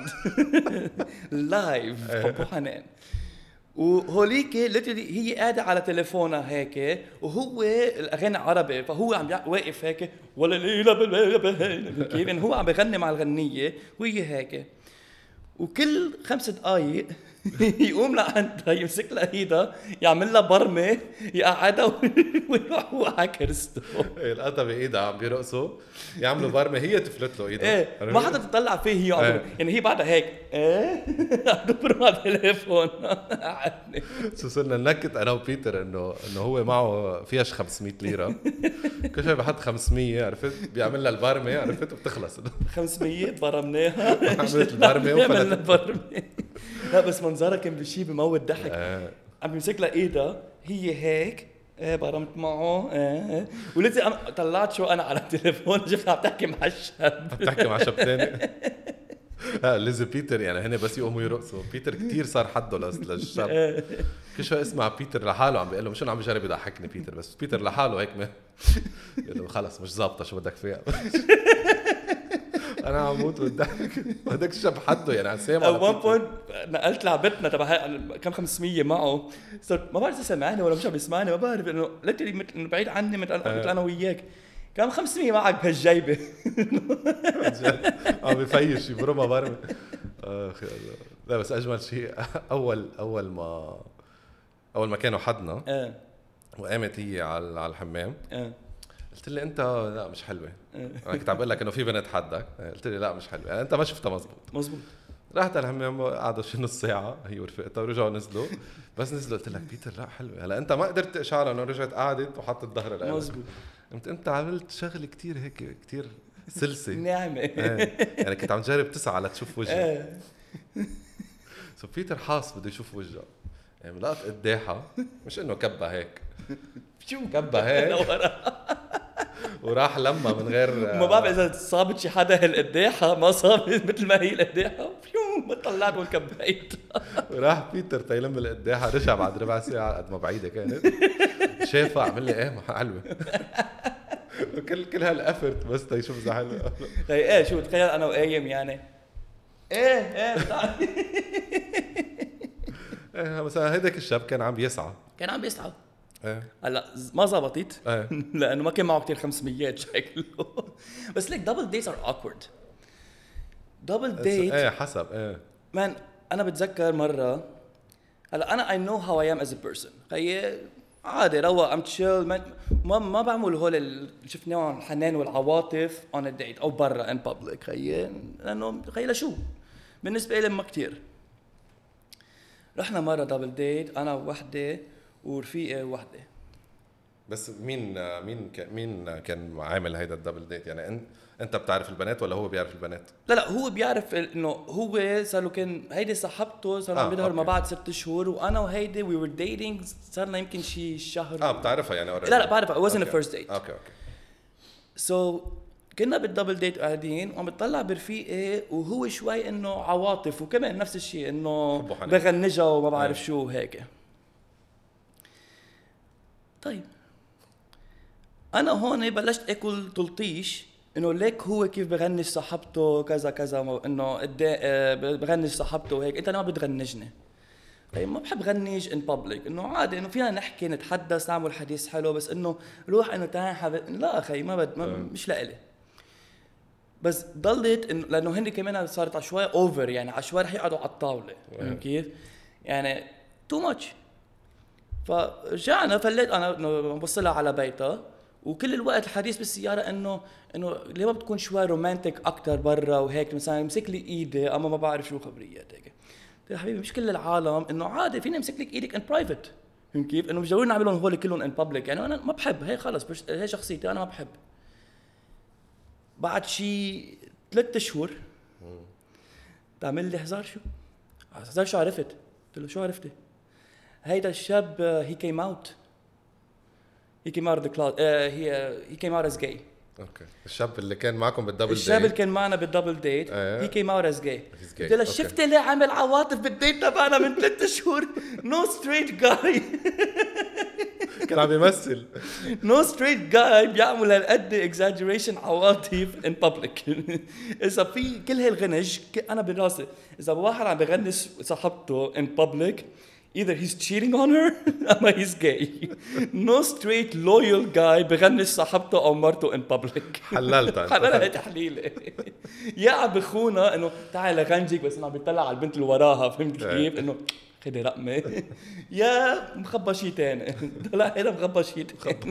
[SPEAKER 1] لايف حبوا حنان. وهوليك ليترلي هي قاعده على تليفونها هيك وهو الاغاني عربي فهو عم واقف هيك ولا ليله بالبلد كيف هو عم بغني مع الغنيه وهي هيك. وكل خمس دقائق يقوم لعندها يمسك لها ايدها يعمل لها برمه يقعدها ويروح هو على كرسته.
[SPEAKER 2] القطه بايدها عم بيرقصوا يعملوا برمه هي تفلت له ايدها.
[SPEAKER 1] ايه ما حدا تطلع فيه هي عم يعني هي بعدها هيك ايه عم تبرم على التليفون.
[SPEAKER 2] شو صرنا ننكت انا وبيتر انه انه هو معه فيش خمسمية ليره كل شوي بحط خمسمية عرفت بيعمل لها البرمه عرفت وبتخلص
[SPEAKER 1] خمسمية برمناها
[SPEAKER 2] عملت البرمه وفلت.
[SPEAKER 1] لا بس منظرها كان بشي بموت ضحك.
[SPEAKER 2] آه.
[SPEAKER 1] عم بيمسك لها ايدها هي هيك ايه برمت معه ايه ولسه طلعت شو انا على التليفون شفتها عم تحكي مع الشاب
[SPEAKER 2] عم تحكي مع شاب ثاني. ها ليزي بيتر يعني هن بس يقوموا يرقصوا. بيتر كتير صار حده للشاب. كل شوي اسمع بيتر لحاله عم بيقول له مش انا عم بجرب يضحكني بيتر بس بيتر لحاله هيك ما يقول له خلص مش ظابطه شو بدك فيها. انا عم موت بالضحك. هذاك الشاب حده يعني عم سامع.
[SPEAKER 1] at one point نقلت لعبتنا تبع كم خمسمية معه صرت ما بعرف اذا سمعني ولا مش عم يسمعني ما بعرف انه ليتلي مثل بعيد عني مثل انا وياك كم خمسمية معك بهالجيبه.
[SPEAKER 2] عم بفيش يبرمها برمه. اخي لا بس اجمل شيء اول اول ما اول ما كانوا حدنا
[SPEAKER 1] اه
[SPEAKER 2] وقامت هي على على الحمام
[SPEAKER 1] اه
[SPEAKER 2] قلت لي انت لا مش حلوه. انا كنت عم بقول لك انه في بنت حدك قلت لي لا مش حلوه يعني انت ما شفتها مزبوط.
[SPEAKER 1] مزبوط.
[SPEAKER 2] رحت على الحمام قعدوا شي نص ساعه هي ورفقتها ورجعوا نزلوا بس نزلوا قلت لك بيتر لا حلوه هلا انت ما قدرت تشعر انه رجعت قعدت وحطت ظهرها لها.
[SPEAKER 1] مزبوط.
[SPEAKER 2] انت انت عملت شغله كتير هيك كتير سلسه
[SPEAKER 1] نعمه.
[SPEAKER 2] يعني كنت عم تجرب تسعى لتشوف وجهها.
[SPEAKER 1] اه
[SPEAKER 2] سو بيتر حاس بده يشوف وجهها يعني لقط قداحها مش انه كبها هيك
[SPEAKER 1] شو
[SPEAKER 2] كبها هيك وراح لما من غير
[SPEAKER 1] ما بعرف اذا صابت شي حدا هالقداحه ما صابت مثل ما هي القداحه فيو ما طلعت والكبيت.
[SPEAKER 2] وراح بيتر تيلم القداحه رجع بعد ربع ساعه قد ما بعيده كانت شافها عمل لي ايه حلوه. كل كل هالافرت بس تيشوف اذا حلوه.
[SPEAKER 1] ايه شو تخيل انا وقايم يعني ايه ايه
[SPEAKER 2] ايه مثلا هيداك الشاب كان عم يسعى
[SPEAKER 1] كان عم بيسعى.
[SPEAKER 2] ايه
[SPEAKER 1] هلا ما زبطت
[SPEAKER 2] ايه
[SPEAKER 1] لانه ما كان معه كتير خمسميات شكله. بس ليك دبل ديتس ار اوكورد. دبل ديت
[SPEAKER 2] ايه حسب ايه
[SPEAKER 1] مان انا بتذكر مره هلا انا I know how I am as a person. خيي عادي روق ام تشيل ما ما بعمل هول اللي شفناهم الحنان والعواطف on a date او برا in public. خيي لانه خيي لشو بالنسبه لي ما كتير. رحنا مره دبل ديت انا ووحده ورفيقه وحده.
[SPEAKER 2] بس مين مين كان مين كان عامل هيدا الدبل ديت يعني انت انت بتعرف البنات ولا هو بيعرف البنات؟
[SPEAKER 1] لا لا هو بيعرف انه هو صار له كان هيدي صاحبته صار عم
[SPEAKER 2] آه
[SPEAKER 1] بيظهر ما بعد ست شهور وانا وهيدي وي ور ديتينج صار لنا يمكن شي شهر.
[SPEAKER 2] اه بتعرفها يعني already.
[SPEAKER 1] لا لا بعرفها. it wasn't a first date.
[SPEAKER 2] اوكي اوكي.
[SPEAKER 1] سو so, كنا بالدبل ديت قاعدين وعم بتطلع برفيقي وهو شوي انه عواطف وكمان نفس الشيء انه بغنجها وما بعرف شو هيك. طيب انا هون بلشت اكل تلطيش انه ليك هو كيف بغنج صاحبته كذا كذا انه بغنج صاحبته وهيك انت ما بتغنجني. طيب ما بحب غنج ان بابليك انه عادي انه فينا نحكي نتحدث نعمل حديث حلو بس انه روح انه تعال حبيب لا اخي ما بد ما مش لإلي. بس ضلت انه لانه هن كمان صارت عشوائي اوفر يعني عشوائي رح يقعدوا على الطاوله كيف يعني تو ماتش. فرجعنا فليت انا بوصلها على بيتها وكل الوقت الحديث بالسياره انه انه ليه ما بتكون شوي رومانتيك اكثر برا وهيك مثلا يمسك لي ايدي اما ما بعرف شو خبريات هيك. يا حبيبي مش كل العالم انه عادي فيني امسك لك ايدك ان برايفت كيف انه مش ضروري نعملهم هول كلهم ان بابليك يعني انا ما بحب هي خلص هي شخصيتي انا ما بحب. بعد شي ثلاثة شهور تعمل لي هزار شو هزار شو عرفت قلت له شو عرفتي هيدا الشاب he came out he came out of the closet uh, he uh, he came out as gay.
[SPEAKER 2] اوكي الشاب اللي كان معكم بالدبل ديت
[SPEAKER 1] الشاب اللي كان معنا بالدبل ديت
[SPEAKER 2] آه.
[SPEAKER 1] he came out as gay.
[SPEAKER 2] قلت
[SPEAKER 1] له شفت اللي عمل عواطف بالديت تبعنا من ثلاثة شهور no straight guy
[SPEAKER 2] كان عم يمثل
[SPEAKER 1] no straight guy بيعمل هالقد exaggeration عواطف in public. إذا في كل هالغنج أنا براسي إذا واحد عم بغنش صاحبته in public either he's cheating on her أما he's gay. No straight loyal guy بغنش صاحبته أو مرته in public.
[SPEAKER 2] حللتها
[SPEAKER 1] حللها تحليلة. يا عم بخونا إنه تعال غنجيك بس إنه عم بيطلع على البنت اللي وراها فهمت كيف إنه خدي رقمة. يا مخبى شيء تاني. لا هذا مخبى شيء تاني.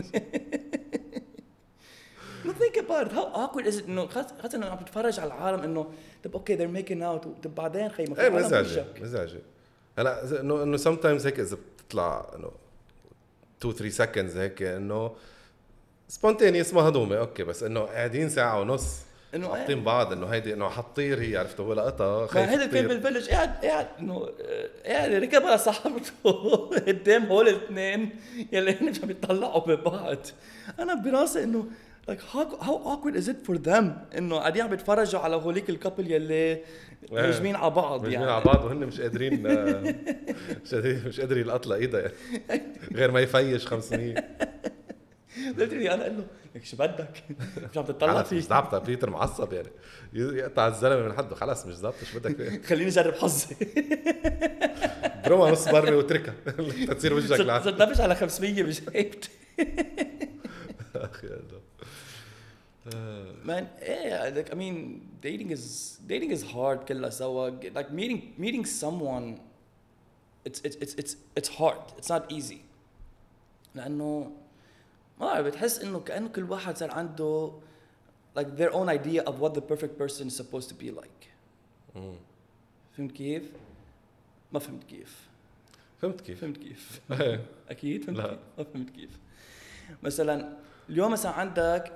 [SPEAKER 1] No, think about it. How awkward is it إنه خاصة إنه عم تتفرج على العالم إنه طب أوكي they're making out طب بعدين خي ما في
[SPEAKER 2] ايه
[SPEAKER 1] عالم
[SPEAKER 2] مزعجة
[SPEAKER 1] وشك.
[SPEAKER 2] مزعجة هلا انه انه sometimes هيك اذا بتطلع انه two three seconds هيك انه spontaneous مهضومة اوكي بس انه قاعدين ساعة ونص
[SPEAKER 1] إنه
[SPEAKER 2] حاطين بعض انه هيدي انه حطير هي عرفت هو لقطها
[SPEAKER 1] ما
[SPEAKER 2] خايف
[SPEAKER 1] هذا الفيلم
[SPEAKER 2] تطير.
[SPEAKER 1] بالفيلج قاعد قاعد إنه قاعد ركب على صاحبته قدام هول الاثنين يلي هن مش عم يطلعوا ببعض. أنا براسي إنه like how how awkward is it for them إنه قاعدين عم يتفرجوا على هوليك الكابل يلي مجمين على بعض
[SPEAKER 2] مجمين
[SPEAKER 1] يعني.
[SPEAKER 2] على بعض وهن مش قادرين مش قادرين مش قادر يلقط له ايدها يعني. غير ما يفيش خمسمية.
[SPEAKER 1] قلتلي أنا قال له لك شو بدك مش عم تطلع
[SPEAKER 2] مش
[SPEAKER 1] فيه
[SPEAKER 2] ضابطة بيتر معصب يعني يقطع الزلمة من حده خلاص مش ضابطة شو بدك فيه
[SPEAKER 1] خليني أجرب حظي.
[SPEAKER 2] بروما نص برمي وتركها تصير وجهك لعنة.
[SPEAKER 1] صدقش على خمسمية مش هيبت.
[SPEAKER 2] أخي هذا
[SPEAKER 1] Man, yeah, like I mean, dating is dating is hard. كلها سوا. Like meeting meeting someone, it's it's it's it's it's hard. It's not easy. لأنه ما أعرف بتحس إنه كأنه كل واحد صار عنده like their own idea of what the perfect person is supposed to be like. فهمت كيف؟ ما فهمت كيف.
[SPEAKER 2] فهمت كيف؟
[SPEAKER 1] فهمت كيف؟
[SPEAKER 2] إيه.
[SPEAKER 1] أكيد فهمت
[SPEAKER 2] لا.
[SPEAKER 1] كيف؟ ما فهمت كيف. مثلا اليوم مثلا عندك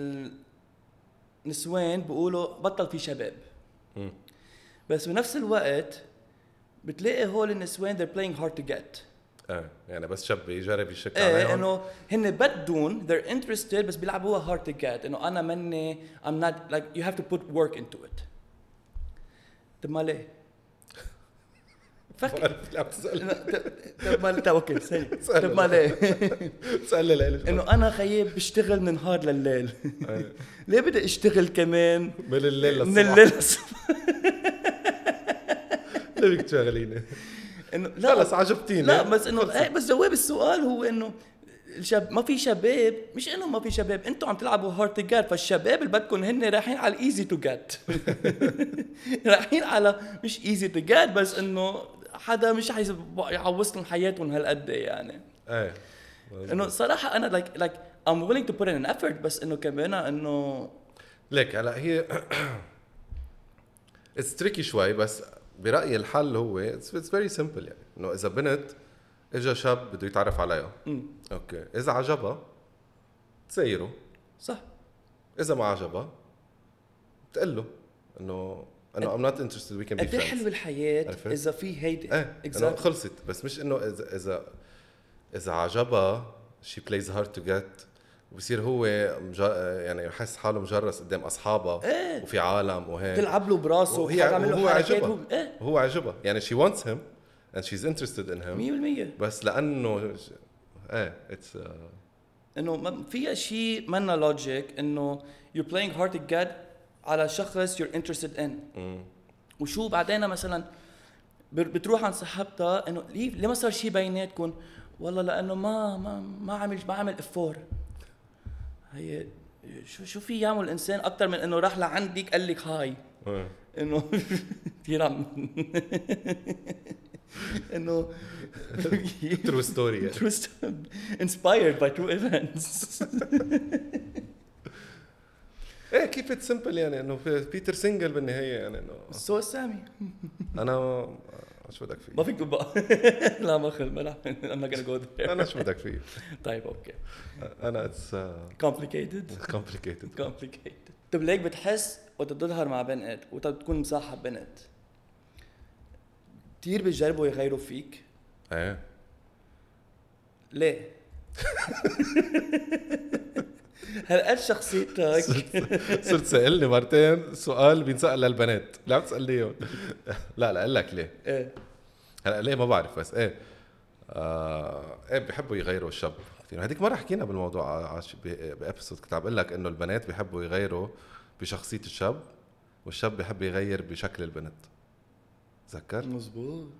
[SPEAKER 1] النسوان بيقولوا بطل في شباب
[SPEAKER 2] مم.
[SPEAKER 1] بس بنفس الوقت بتلاقي هول النسوان they're playing hard to get.
[SPEAKER 2] ايه يعني بس شاب يجرب يشك
[SPEAKER 1] ايه
[SPEAKER 2] عليهم
[SPEAKER 1] انه هن بدون they're interested بس بيلعبوها hard to get انه انا مني I'm not like you have to put work into it. طب ما ليه؟ فكر
[SPEAKER 2] عم تسأل
[SPEAKER 1] طب ما طب اوكي سهل طب ما ليه؟
[SPEAKER 2] تسأل لي ليش
[SPEAKER 1] انه انا خيب بشتغل من نهار لليل ليه بدي اشتغل كمان
[SPEAKER 2] من الليل للصبح
[SPEAKER 1] من الليل للصبح؟
[SPEAKER 2] ليه بدك تشغليني؟
[SPEAKER 1] انه لا
[SPEAKER 2] خلص عجبتيني
[SPEAKER 1] لا بس انه ايه بس جواب السؤال هو انه الشاب ما في شباب مش انه ما في شباب انتم عم تلعبوا هارد تو جيت فالشباب اللي بدكم هن رايحين على الايزي تو جيت رايحين على مش ايزي تو جيت بس انه حدا مش عايز يعوض لهم حياتهم هالقد يعني
[SPEAKER 2] ايه
[SPEAKER 1] انه صراحه انا لايك لايك I'm willing to put in an effort بس انه كمان انه
[SPEAKER 2] ليك هلا هي اتس تريكي شوي بس برأيي الحل هو اتس فيري سمبل يعني انه اذا بنت اجى شاب بده يتعرف عليها
[SPEAKER 1] مم.
[SPEAKER 2] اوكي اذا عجبها تسيره
[SPEAKER 1] صح
[SPEAKER 2] اذا ما عجبها بتقول له انه انه I'm not interested we can be
[SPEAKER 1] قد ايه
[SPEAKER 2] friends
[SPEAKER 1] حلوه الحياه
[SPEAKER 2] عرفت؟
[SPEAKER 1] اذا في هيدي
[SPEAKER 2] ايه انه خلصت بس مش انه اذا اذا اذا عجبها she plays hard to get وبصير هو مجا... يعني يحس حاله مجرس قدام اصحابها
[SPEAKER 1] ايه
[SPEAKER 2] وفي عالم وهيك
[SPEAKER 1] تلعب له براسه
[SPEAKER 2] وهي
[SPEAKER 1] وحاعمل له
[SPEAKER 2] وهو
[SPEAKER 1] حركات
[SPEAKER 2] عجبها
[SPEAKER 1] هو ايه
[SPEAKER 2] هو عجبها يعني she wants him and she's interested in him
[SPEAKER 1] مية بالمية
[SPEAKER 2] بس لانه ايه اتس
[SPEAKER 1] انه ما فيها شيء منا لوجيك انه you're playing hard to get على شخص you're interested in وشو بعدين مثلا بتروح عند صاحبتها انه ليه ليه ما صار شيء بيناتكم والله لانه ما ما ما عمل ما عمل افور هي شو شو في يعمل الانسان اكثر من انه راح لعندك قال لك هاي انه كثير عم انه
[SPEAKER 2] true story يعني.
[SPEAKER 1] true story inspired by true events
[SPEAKER 2] ايه كيف ات سمبل يعني انه بيتر سينجل بالنهايه يعني انه
[SPEAKER 1] سو سامي
[SPEAKER 2] انا شو بدك فيه
[SPEAKER 1] ما فيك تبقى لا ما خل ما I'm not gonna go there
[SPEAKER 2] انا شو بدك فيه
[SPEAKER 1] طيب اوكي
[SPEAKER 2] انا اتس
[SPEAKER 1] complicated
[SPEAKER 2] complicated
[SPEAKER 1] complicated طب ليك بتحس وقت تظهر مع بنت وقت تكون مصاحب بنت كتير بيجربوا يغيروا فيك
[SPEAKER 2] ايه
[SPEAKER 1] ليه؟ هالقد شخصيتك
[SPEAKER 2] صرت سألني مرتين سؤال بينسأل للبنات لا بتسألنيهم لا لا اقول لك ليه
[SPEAKER 1] ايه
[SPEAKER 2] هلا ليه ما بعرف بس ايه آه ايه بيحبوا يغيروا الشاب كثير هذيك مره حكينا بالموضوع بابسود كنت عم بقول لك انه البنات بيحبوا يغيروا بشخصيه الشاب والشاب بيحب يغير بشكل البنت تذكر
[SPEAKER 1] مزبوط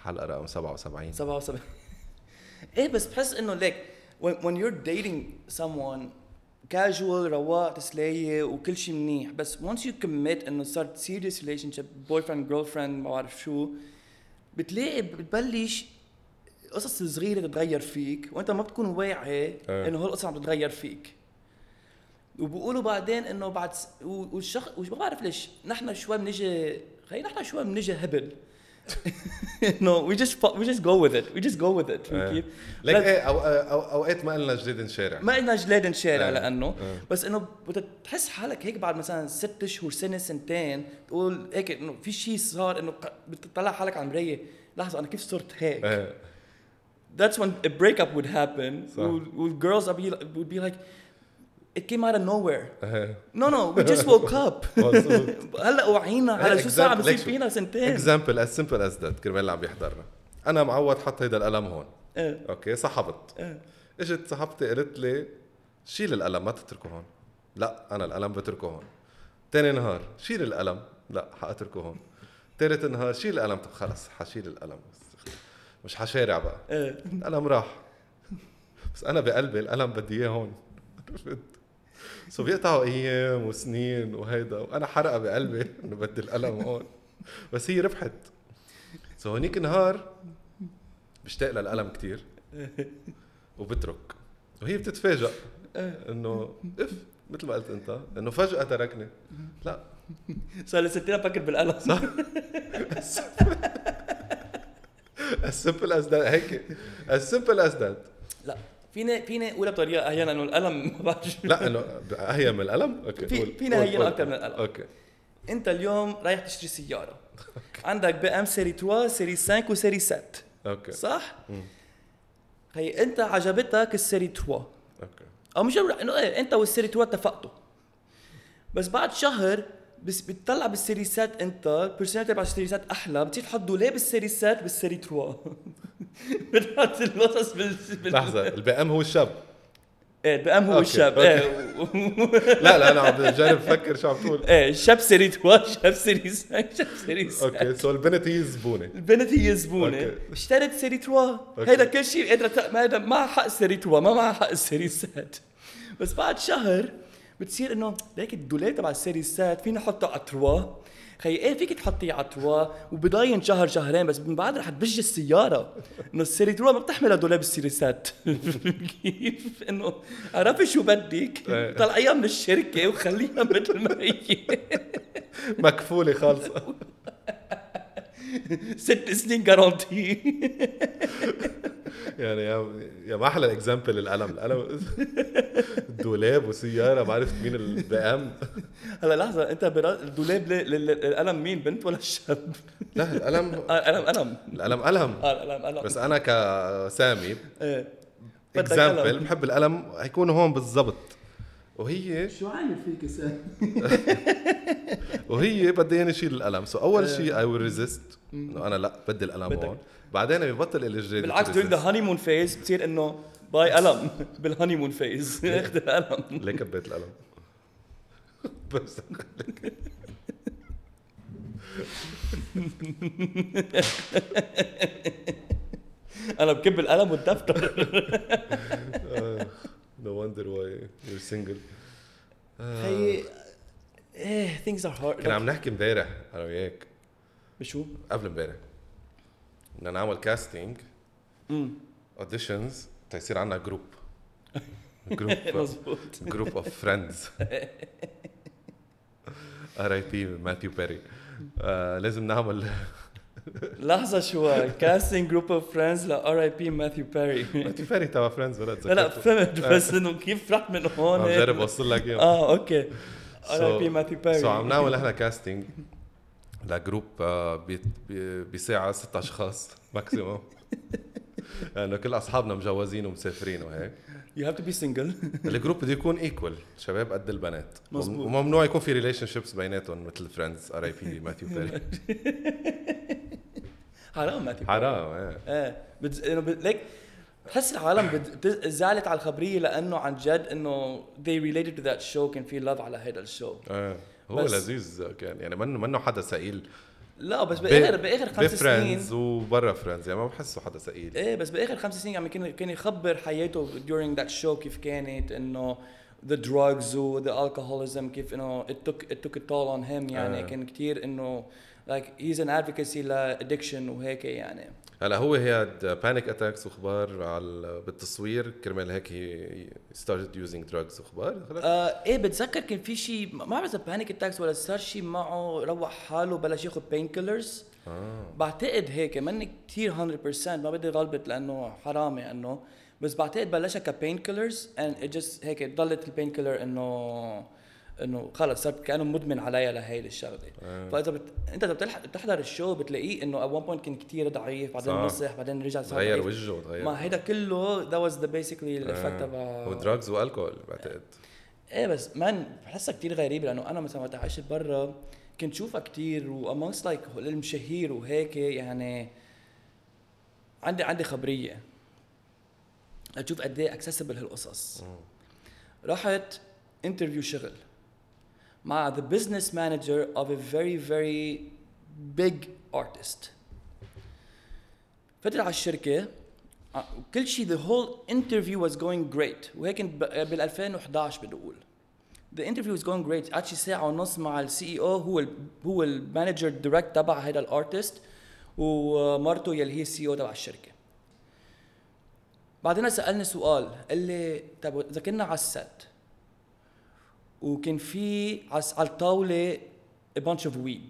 [SPEAKER 2] حلقه رقم سبعة وسبعين
[SPEAKER 1] سبعة وسبعين. ايه بس بحس انه like when, when you're dating someone casual رواق تسلية وكل شيء منيح بس once you commit انه صارت serious relationship boyfriend girlfriend ما بعرف شو بتلاقي بتبلش قصص صغيرة تتغير فيك وانت ما بتكون واعي انه هالقصص عم تتغير فيك وبقولوا بعدين انه بعد س... والشخص وش بعرف ليش نحن شوي بنجي خلينا نحن شوي بنجي هبل no we just we just go with it we just go with it كيف
[SPEAKER 2] لك ايه او او اوقات ما قلنا جليد نشارع
[SPEAKER 1] ما قلنا جليد نشارع لانه بس انه بتحس حالك هيك بعد مثلا ست شهور سنه سنتين تقول هيك انه في شيء صار انه بتطلع حالك على المرايه لحظه انا كيف صرت هيك that's when a breakup would happen would girls would be, would be like it came out of nowhere no no we just woke up هلا وعينا على شو صار بصير فينا سنتين
[SPEAKER 2] example as simple as that كرمال اللي عم بيحضرنا انا معود حط هيدا القلم هون
[SPEAKER 1] اه.
[SPEAKER 2] اوكي سحبت اه. اجت صاحبتي قالت لي شيل القلم ما تتركه هون لا انا القلم بتركه هون تاني نهار شيل القلم لا حاتركه هون ثالث نهار شيل القلم طب خلص حشيل القلم مش حشارع بقى اه. القلم راح بس انا بقلبي القلم بدي اياه هون سو بيقطعوا ايام وسنين وهيدا وانا حرقه بقلبي انه بدي القلم هون بس هي ربحت سو هونيك نهار بشتاق للقلم كتير وبترك وهي بتتفاجئ انه اف مثل ما قلت انت انه فجأة تركني لا
[SPEAKER 1] صار لي ستين افكر بالقلم
[SPEAKER 2] صح as simple as that هيك as simple as that
[SPEAKER 1] لا فينا فينا اقولها بطريقه احيانا انه القلم ما بعرف
[SPEAKER 2] لا انه اهين من القلم اوكي
[SPEAKER 1] في فينا هين اكثر من القلم
[SPEAKER 2] اوكي
[SPEAKER 1] انت اليوم رايح تشتري سياره عندك بي ام سيري ثلاثة سيري خمسة وسيري ستة
[SPEAKER 2] اوكي
[SPEAKER 1] صح مم. هي انت عجبتك السيري ثلاثة
[SPEAKER 2] اوكي
[SPEAKER 1] او مش انه ايه انت والسيري ثلاثة اتفقتوا بس بعد شهر بس بتطلع بالسيري ستة انت البيرسوناليتي تبع السيري ستة احلى بتصير تحط دولاب السيري ستة بالسيري ثلاثة بتحط القصص بال
[SPEAKER 2] لحظه البي ام هو الشاب
[SPEAKER 1] ايه البي ام هو الشاب ايه
[SPEAKER 2] لا لا انا عم بجرب افكر شو عم تقول
[SPEAKER 1] ايه الشاب سيري ثلاثة شاب سيري ستة شاب سيري ستة
[SPEAKER 2] اوكي سو البنت هي الزبونه
[SPEAKER 1] البنت هي الزبونه اشترت سيري ثلاثة هيدا كل شيء قادره ما هذا ما حق سيري ثلاثة ما معها حق السيري ستة بس بعد شهر بتصير انه ليك الدولاب تبع السيري ستة فينا نحطه على ثلاثة خي ايه فيك تحطيه على ثلاثة وبضاين شهر شهرين بس من بعد رح تبج السياره انه السيري ثلاثة ما بتحملها دولاب السيري ستة كيف انه عرفي شو بدك طلعيها من الشركه وخليها مثل ما هي
[SPEAKER 2] مكفوله خالصه
[SPEAKER 1] ست سنين جارانتي
[SPEAKER 2] يعني يا يا ما احلى اكزامبل القلم القلم الدولاب وسياره ما عرفت مين البي ام
[SPEAKER 1] هلا لحظه انت الدولاب القلم مين بنت ولا الشاب
[SPEAKER 2] لا القلم
[SPEAKER 1] قلم قلم
[SPEAKER 2] القلم قلم
[SPEAKER 1] القلم قلم
[SPEAKER 2] بس انا كسامي اكزامبل بحب القلم هيكون هون بالضبط وهي
[SPEAKER 1] شو عامل فيك سامي
[SPEAKER 2] وهي بدي اني اشيل القلم سو اول شيء اي ويل ريزيست انه انا لا بدي القلم هون بعدين ببطل الجريد
[SPEAKER 1] بالعكس during the honeymoon phase بتصير انه باي قلم بالهانيمون فيز اخذ القلم
[SPEAKER 2] ليه كبيت القلم بس
[SPEAKER 1] انا بكب القلم والدفتر
[SPEAKER 2] no wonder why you're single
[SPEAKER 1] هي ايه things are hard
[SPEAKER 2] كنا عم نحكي امبارح انا وياك
[SPEAKER 1] بشو
[SPEAKER 2] قبل امبارح بدنا نعمل كاستينج اوديشنز تيصير عنا جروب جروب
[SPEAKER 1] مظبوط
[SPEAKER 2] جروب اوف فريندز ار اي بي ماثيو بيري لازم نعمل
[SPEAKER 1] لحظة شوي كاستينج جروب اوف فريندز ل ار اي بي ماثيو بيري
[SPEAKER 2] ماثيو بيري تبع فريندز ولا
[SPEAKER 1] لا لا فهمت بس انه كيف رحت من هون
[SPEAKER 2] عم جرب اوصل لك اياه
[SPEAKER 1] اه اوكي ار اي بي ماثيو بيري
[SPEAKER 2] سو عم نعمل احنا كاستينج لجروب بساعة ستة اشخاص ماكسيموم لانه كل اصحابنا مجوزين ومسافرين وهيك
[SPEAKER 1] you have to be single
[SPEAKER 2] الجروب بده يكون ايكوال شباب قد البنات وممنوع يكون في ريليشن شيبس بيناتهم مثل فريندز ار اي بي ماثيو بيري
[SPEAKER 1] حرام ماثيو
[SPEAKER 2] حرام ايه
[SPEAKER 1] ايه بت... انه ليك بحس العالم بت... زعلت على الخبريه لانه عن جد انه they related to that show كان في love على هذا الشو
[SPEAKER 2] ايه هو لذيذ كان يعني منه منه حدا ثقيل
[SPEAKER 1] لا بس باخر باخر خمس سنين
[SPEAKER 2] بفريندز وبرا فريندز يعني ما بحسه حدا ثقيل.
[SPEAKER 1] ايه بس باخر خمس سنين عم كان كان يخبر حياته during that show كيف كانت انه the drugs و the alcoholism كيف انه it took it took a toll on him يعني آه. كان كتير انه like he's an advocacy ل addiction وهيك يعني.
[SPEAKER 2] هلا هو هي panic attacks وخبار على بالتصوير كرمال هيك he started using drugs وخبار.
[SPEAKER 1] آه ايه بتذكر كان في شيء ما بعرف اذا panic attacks ولا صار شيء معه روح حاله بلش ياخذ pain killers. آه. بعتقد هيك ماني كتير one hundred percent ما بدي غلبت لانه حرام يعني بس بعتقد بلشها كبين كيلرز and it just هيك ضلت البين كيلر انه انه خلص صار كانه مدمن عليها لهي الشغله. آه. فاذا بت... انت بتلحق بتحضر الشو بتلاقيه انه at one point كان كتير ضعيف بعدين مسح بعدين رجع صار
[SPEAKER 2] غير وجهه تغير.
[SPEAKER 1] ما هيدا كله that was the basically the effect of
[SPEAKER 2] هو دراجز والكحول بعتقد.
[SPEAKER 1] ايه بس مان بحسها كتير غريبه لانه انا مثلا وقت عشت برا كنت شوفها كتير و amongst like المشاهير وهيك يعني عندي عندي خبريه اشوف قد ايه اكسسبل هالقصص. رحت انترفيو شغل مع the business manager of a very very big artist. فتر على الشركه كل شيء the whole interview was going great وهيك بال ألفين وإحدعش بدي اقول the interview was going great. قعدت شي ساعه ونص مع السي اي او هو ال هو المانجر دايركت تبع هذا الارتست ومرته يلي هي السي او تبع الشركه. بعدين سألني سؤال قال لي طب اذا كنا على الست وكان في على الطاوله a bunch of weed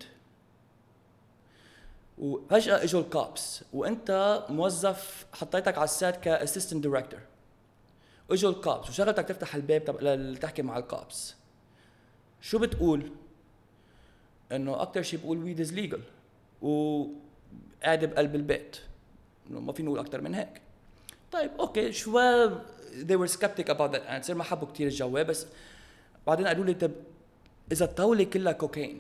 [SPEAKER 1] وفجأة اجوا الكابس وانت موظف حطيتك على الست كاسيستنت دايركتور اجوا الكابس وشغلتك تفتح الباب تب... تحكي مع الكابس شو بتقول؟ انه اكثر شيء بقول ويد از ليجل وقاعد بقلب البيت انه ما في نقول اكثر من هيك. طيب اوكي شوي they were skeptic about that answer ما حبوا كتير الجواب بس بعدين قالوا لي طب اذا الطاوله كلها كوكايين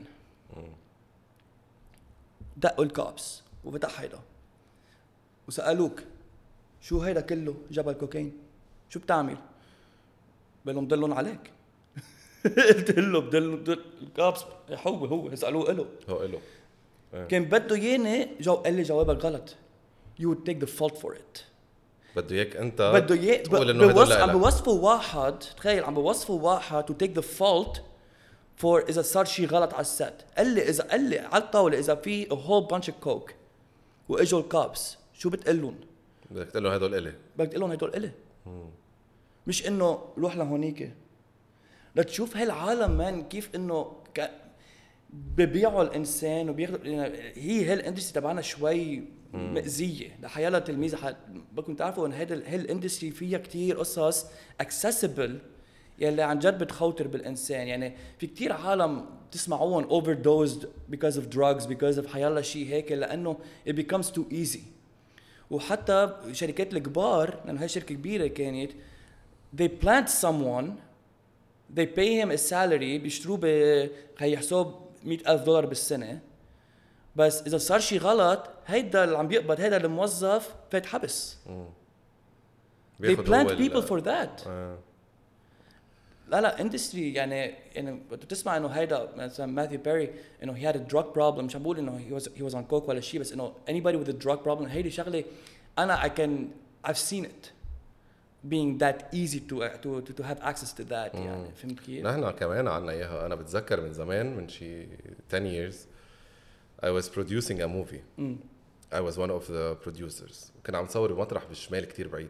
[SPEAKER 1] دقوا الكابس وفتح هيدا وسالوك شو هيدا كله جبل كوكايين شو بتعمل؟ بقول دلهم عليك. قلت له بدل الكابس هو هو اسالوه له
[SPEAKER 2] هو له
[SPEAKER 1] كان بده ياني جو قال لي جوابك غلط you would take the fault for it.
[SPEAKER 2] بده اياك انت
[SPEAKER 1] بده اياه تقول انه هدول عم بوصفوا واحد تخيل عم بوصفوا واحد to take the fault for اذا صار شيء غلط على الست. قال لي اذا قال لي على الطاوله اذا في a whole bunch of coke واجوا الكابس شو بتقول لهم؟
[SPEAKER 2] بدك تقول لهم هدول الي
[SPEAKER 1] بدك تقول لهم هدول الي مش انه روح لهونيك لتشوف هالعالم مان كيف انه ك... ببيعوا الانسان وبياخذوا هي هالاندستري تبعنا شوي مأزية لحيالة تلميذ حد بدكم تعرفوا ان هذا هالاندستري فيها كتير قصص accessible يلي عن جد بتخوتر بالانسان. يعني في كتير عالم تسمعوهم overdosed because of drugs because of حيالله شيء هيك لانه it becomes too easy. وحتى شركات الكبار لانه هاي شركة كبيرة كانت they plant someone they pay him a salary بيشتروه بهي حساب مئة ألف دولار بالسنة بس إذا صار شيء غلط هيدا اللي عم بيقبض هيدا الموظف فات حبس. they plant people for that. آه. لا لا industry يعني يعني بتسمع إنه هيدا مثلا ماثيو بيري إنه he had a drug problem مش عم بقول إنه he was he was on coke ولا شيء بس إنه anybody with a drug problem هيدي شغلة أنا I can I've seen it being that easy to to to, to have access to that. مم. يعني فهمت كيف؟
[SPEAKER 2] نحن كمان عنا إياها. أنا بتذكر من زمان من شي ten years I was producing a movie. مم. I was one of the producers. وكنا عم نصور بمطرح بالشمال كتير بعيد.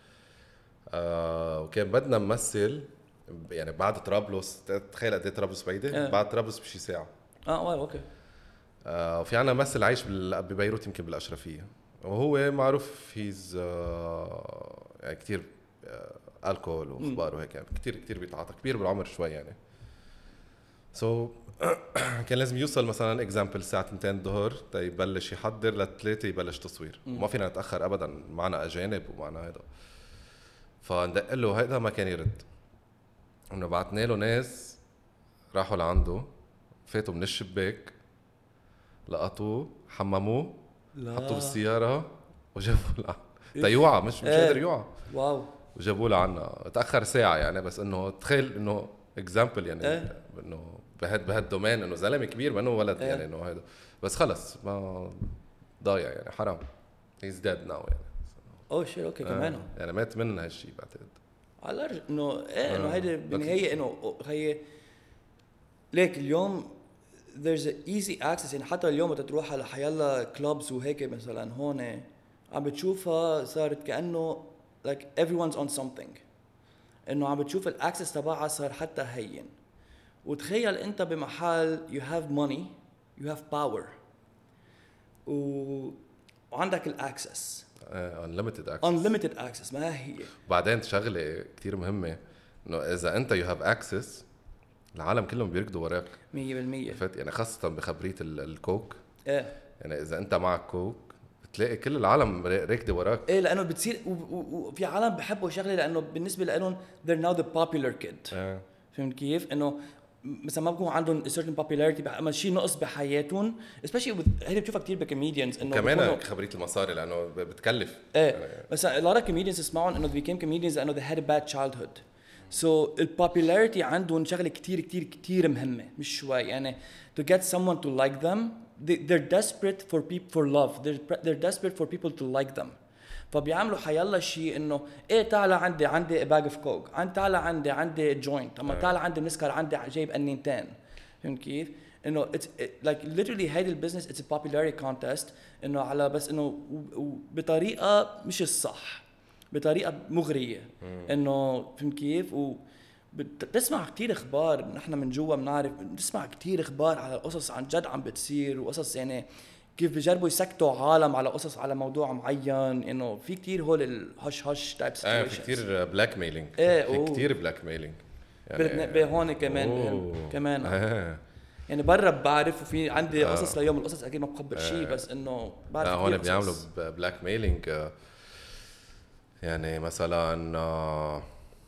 [SPEAKER 2] آه وكان بدنا نمثل يعني بعد طرابلس تخيل قد ايه طرابلس بعيدة؟ آه. بعد طرابلس بشي ساعة.
[SPEAKER 1] اه واو اوكي.
[SPEAKER 2] آه وفي عنا ممثل عايش ببيروت يمكن بالأشرفية وهو معروف هيز آه يعني كتير آه الكحول واخبار وهيك يعني كتير كتير بيتعاطى كبير بالعمر شوي يعني. سو so, كان لازم يوصل مثلا اكزامبل الساعه اثنين الظهر تيبلش يحضر لثلاثة يبلش تصوير. ما فينا نتاخر ابدا معنا اجانب ومعنا هذا. فندق له هيدا ما كان يرد انه بعتنا له ناس راحوا لعنده فاتوا من الشباك لقطوه حمموه حطوه بالسياره وجابوه لعنا تيوعى مش مش قادر يوعى.
[SPEAKER 1] واو.
[SPEAKER 2] وجابوه لعنا تاخر ساعه يعني بس انه تخيل انه اكزامبل يعني
[SPEAKER 1] إيه.
[SPEAKER 2] انه بهد بهالدومين انه زلمه كبير منه ولد
[SPEAKER 1] إيه.
[SPEAKER 2] يعني انه هذا بس خلص ما ضايع يعني حرام he's dead now يعني
[SPEAKER 1] اوه شيء اوكي
[SPEAKER 2] آه.
[SPEAKER 1] كمان
[SPEAKER 2] يعني مات من هالشيء بعتقد
[SPEAKER 1] على الأرج... انه ايه انه
[SPEAKER 2] آه.
[SPEAKER 1] هيدي بالنهايه انه هي ليك اليوم there's a easy access يعني حتى اليوم وقت تروح على حيالله كلوبز وهيك مثلا هون عم بتشوفها صارت كأنه like everyone's on something انه عم بتشوف الاكسس تبعها صار حتى هين وتخيل انت بمحل you have money you have power و... وعندك الاكسس
[SPEAKER 2] uh, unlimited access
[SPEAKER 1] unlimited access ما هي
[SPEAKER 2] بعدين شغله كتير مهمه انه اذا انت you have access العالم كلهم بيركضوا وراك
[SPEAKER 1] مية بالمية
[SPEAKER 2] فت يعني خاصه بخبريه ال- الكوك
[SPEAKER 1] ايه
[SPEAKER 2] يعني اذا انت معك كوك بتلاقي كل العالم راكده وراك
[SPEAKER 1] ايه لانه بتصير وفي عالم بحبوا شغله لانه بالنسبه لهم they're now the popular kid
[SPEAKER 2] آه.
[SPEAKER 1] فهمت كيف انه مثلا ما بكون عندهم certain popularity اما شيء نقص بحياتهم especially with هيدي بتشوفها كثير بكوميديانز انه
[SPEAKER 2] كمان خبريه المصاري لانه بتكلف
[SPEAKER 1] ايه
[SPEAKER 2] يعني
[SPEAKER 1] مثلا a lot of comedians اسمعهم انه they became comedians لانه they had a bad childhood so البوبولاريتي عندهم شغله كتير كتير كتير مهمه مش شوي يعني to get someone to like them they, they're desperate for people for love they're, they're desperate for people to like them فبيعملوا حيالله شيء انه ايه تعال عندي عندي باج اوف كوك عند تعال عندي عندي جوينت اما تعال عندي مسكر عندي جايب انينتين فهمت كيف انه it's it, like literally هيدي البزنس it's a popularity contest انه على بس انه بطريقه مش الصح بطريقه مغريه انه فهمت كيف و بتسمع كتير اخبار نحن من جوا بنعرف بنسمع كتير اخبار على قصص عن جد عم بتصير وقصص يعني كيف بيجربوا يسكتوا عالم على قصص على موضوع معين انه في كتير هول الهش هش تايب
[SPEAKER 2] اه
[SPEAKER 1] سيتويشنز
[SPEAKER 2] في كتير بلاك ميلينج
[SPEAKER 1] ايه
[SPEAKER 2] في كتير بلاك ميلينج
[SPEAKER 1] يعني هون كمان
[SPEAKER 2] أوه.
[SPEAKER 1] كمان
[SPEAKER 2] آه.
[SPEAKER 1] يعني برا بعرف وفي عندي
[SPEAKER 2] آه.
[SPEAKER 1] قصص ليوم القصص اكيد ما بخبر آه. شيء بس انه بعرف
[SPEAKER 2] آه هون بيعملوا بلاك ميلينج آه يعني مثلا آه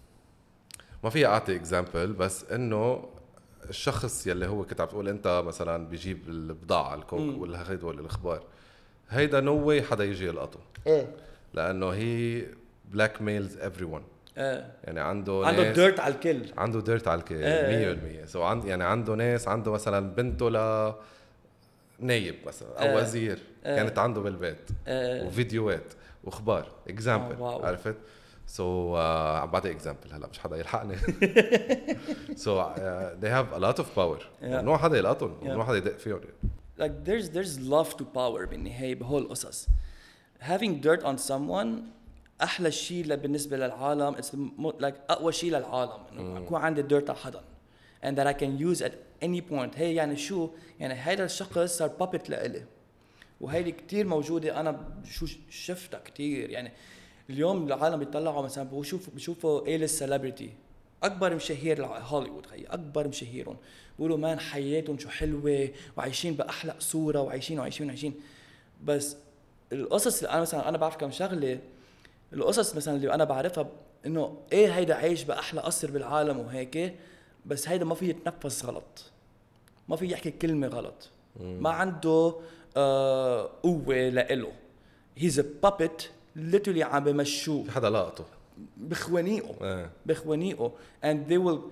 [SPEAKER 2] ما في اعطي اكزامبل بس انه الشخص يلي هو كنت عم تقول انت مثلا بيجيب البضاعه الكوك ولا هيدا ولا الاخبار هيدا نو واي حدا يجي يلقطه
[SPEAKER 1] ايه
[SPEAKER 2] لانه هي بلاك ميلز ايفري ون
[SPEAKER 1] ايه
[SPEAKER 2] يعني عنده
[SPEAKER 1] عنده
[SPEAKER 2] ناس
[SPEAKER 1] ديرت على الكل
[SPEAKER 2] عنده ديرت على الكل
[SPEAKER 1] إيه.
[SPEAKER 2] مية بالمية سو عند يعني عنده ناس عنده مثلا بنته ل نايب مثلا او
[SPEAKER 1] إيه.
[SPEAKER 2] وزير
[SPEAKER 1] إيه.
[SPEAKER 2] كانت عنده بالبيت
[SPEAKER 1] إيه.
[SPEAKER 2] وفيديوهات واخبار اكزامبل
[SPEAKER 1] آه،
[SPEAKER 2] عرفت سو so, uh, عم بعطي اكزامبل هلا مش حدا يلحقني سو so, uh, they have a lot of power
[SPEAKER 1] Yeah.
[SPEAKER 2] ممنوع حدا يلقطهم
[SPEAKER 1] Yeah.
[SPEAKER 2] ممنوع حدا يدق فيهم
[SPEAKER 1] like there's there's love to power بالنهاية بهول القصص having dirt on someone أحلى شيء بالنسبة للعالم it's the like أقوى شيء للعالم إنه أكون عندي dirt على حدا and that I can use at any point هي يعني شو يعني هيدا الشخص صار puppet لإلي وهيدي كتير موجودة أنا شو شفتها كتير يعني اليوم العالم بيطلعوا مثلا بيشوفوا بيشوفوا ايه السليبرتي اكبر مشاهير هوليوود خي اكبر مشاهيرهم بيقولوا مان حياتهم شو حلوه وعايشين باحلى صوره وعايشين وعايشين وعايشين بس القصص اللي انا مثلا انا بعرف كم شغله القصص مثلا اللي انا بعرفها انه ايه هيدا عايش باحلى قصر بالعالم وهيك بس هيدا ما في يتنفس غلط ما في يحكي كلمه غلط ما عنده آه قوه لإله he's a puppet literally عم بمشوه
[SPEAKER 2] في حدا لقطه
[SPEAKER 1] بخوانيقه
[SPEAKER 2] آه.
[SPEAKER 1] بخوانيقه and they will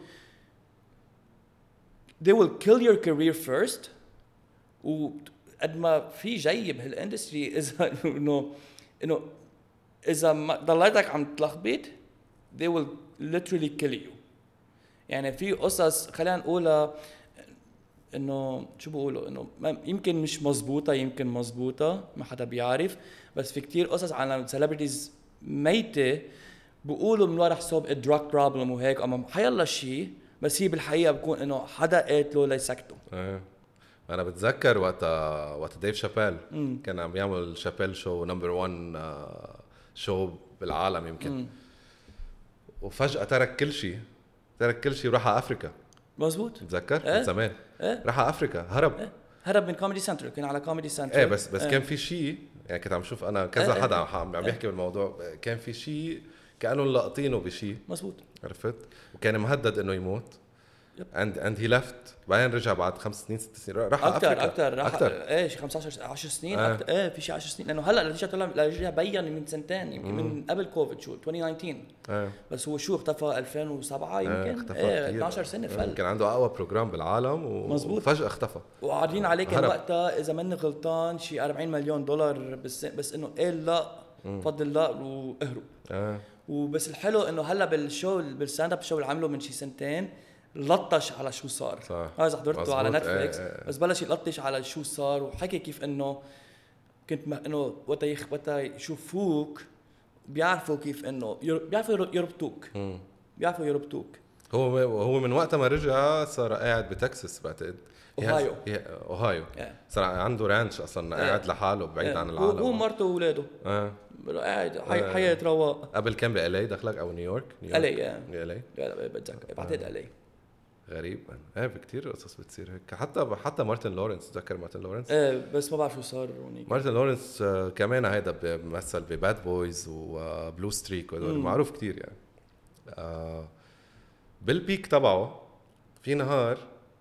[SPEAKER 1] they will kill your career first وقد ما في جاي بهالاندستري اذا انه انه اذا ما ضليتك عم تلخبط they will literally kill you يعني في قصص خلينا نقولها انه شو بقولوا انه يمكن مش مزبوطه يمكن مزبوطه ما حدا بيعرف بس في كتير قصص عن سيلبرتيز ميته بقولوا من ورا حساب الدراج بروبلم وهيك اما حيالله شيء بس هي بالحقيقه بكون انه حدا قاتله ليسكته
[SPEAKER 2] آه. انا بتذكر وقت وقت ديف شابيل كان عم يعمل شابيل شو نمبر واحد شو بالعالم يمكن مم. وفجأة ترك كل شيء ترك كل شيء وراح على افريكا
[SPEAKER 1] مزبوط
[SPEAKER 2] تذكر
[SPEAKER 1] إيه؟
[SPEAKER 2] من زمان
[SPEAKER 1] إيه؟
[SPEAKER 2] راح على افريكا هرب
[SPEAKER 1] إيه؟ هرب من كوميدي سنتر كان على كوميدي سنتر
[SPEAKER 2] ايه بس بس
[SPEAKER 1] إيه؟
[SPEAKER 2] كان في شيء يعني كنت عم شوف انا كذا
[SPEAKER 1] إيه؟
[SPEAKER 2] حدا عم عم يحكي بالموضوع كان في شيء كانوا لاقطينه بشيء
[SPEAKER 1] مزبوط
[SPEAKER 2] عرفت وكان مهدد انه يموت and and he left بعدين رجع بعد خمس سنين ست سنين راح
[SPEAKER 1] اكثر اكثر راح ايه شي خمسة عشر سنين آه. أكتر. ايه في شي عشر سنين لانه هلا رجع طلع رجع بين من سنتين يمكن من قبل كوفيد شو ألفين وتسعطعش آه. بس هو شو اختفى ألفين وسبعة يمكن آه. ايه اثناشر سنه فل
[SPEAKER 2] كان عنده اقوى بروجرام بالعالم وفجاه اختفى
[SPEAKER 1] وقاعدين عليه كان وقتها اذا مني غلطان شي أربعين مليون دولار بس بس انه ايه لا بفضل الله واهرب آه. وبس الحلو انه هلا بالشو بالستاند اب شو اللي عمله من شي سنتين لطش على شو صار هذا حضرته على نتفليكس ايه ايه. بس بلش يلطش على شو صار وحكي كيف انه كنت م... انه وقت يخ... وقت يشوفوك بيعرفوا كيف انه ير... بيعرفوا يربطوك مم. بيعرفوا يربطوك
[SPEAKER 2] هو هو من وقت ما رجع صار قاعد بتكساس بعتقد
[SPEAKER 1] اوهايو
[SPEAKER 2] اوهايو yeah. صار عنده رانش اصلا yeah. قاعد لحاله بعيد yeah. عن العالم
[SPEAKER 1] هو ومرته واولاده اه قاعد حي... حياة رواق
[SPEAKER 2] قبل كان بإلي دخلك او نيويورك
[SPEAKER 1] نيويورك الي
[SPEAKER 2] الي
[SPEAKER 1] لا بتذكر بعتقد الي
[SPEAKER 2] غريب ايه بكتير قصص بتصير هيك حتى حتى مارتن لورنس تذكر مارتن لورنس
[SPEAKER 1] ايه بس ما بعرف شو صار هونيك
[SPEAKER 2] مارتن لورنس كمان هيدا بمثل بباد بويز وبلو ستريك وهدول معروف كتير يعني آه بالبيك تبعه في نهار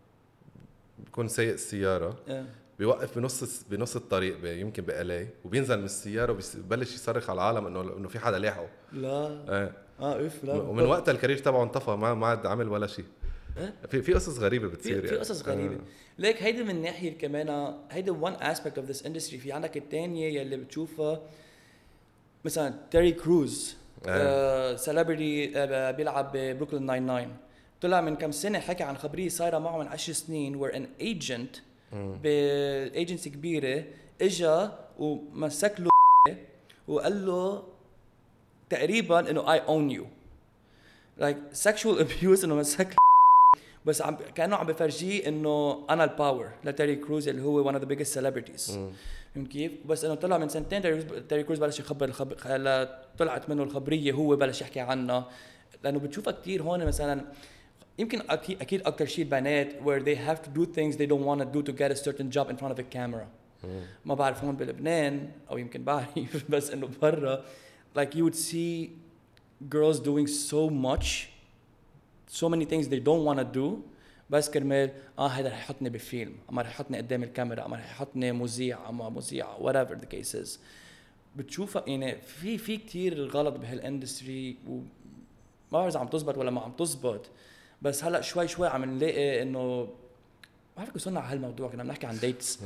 [SPEAKER 2] بيكون سايق السياره إيه. بيوقف بنص بنص الطريق يمكن بإلي وبينزل من السياره وبيبلش يصرخ على العالم انه انه في حدا لاحقه
[SPEAKER 1] لا
[SPEAKER 2] ايه
[SPEAKER 1] اه اف لا
[SPEAKER 2] ومن وقتها الكارير تبعه انطفى ما ما عاد عمل ولا شيء في في قصص غريبه بتصير
[SPEAKER 1] في, يعني. في قصص غريبه آه. ليك هيدا من ناحيه كمان هيدا وان اسبكت اوف ذس اندستري في عندك الثانيه يلي بتشوفها مثلا تيري كروز سيلبرتي آه بيلعب ببروكلين ناين ناين طلع من كم سنه حكى عن خبريه صايره معه من عشر سنين وير ان ايجنت بايجنسي كبيره اجى ومسك له وقال له تقريبا انه اي اون يو لايك سيكشوال ابيوز انه مسك بس عم كانه عم بفرجيه انه انا الباور لتيري كروز اللي هو one of the biggest celebrities فهمت كيف بس انه طلع من سنتين تيري كروز بلش يخبر الخبر طلعت منه الخبريه هو بلش يحكي عنها لانه بتشوفها كتير هون مثلا يمكن اكيد اكيد اكثر شيء البنات where they have to do things they don't want to do to get a certain job in front of a camera ما بعرف هون بلبنان او يمكن بعرف بس انه برا like you would see girls doing so much so many things they don't want to do بس كرمال اه هذا رح يحطني بفيلم اما رح يحطني قدام الكاميرا اما رح يحطني مذيع اما مذيع whatever the case is بتشوفها يعني في في كتير غلط بهالاندستري وما بعرف اذا عم تزبط ولا ما عم تزبط بس هلا شوي شوي عم نلاقي انه ما بعرف وصلنا على هالموضوع كنا بنحكي عن ديتس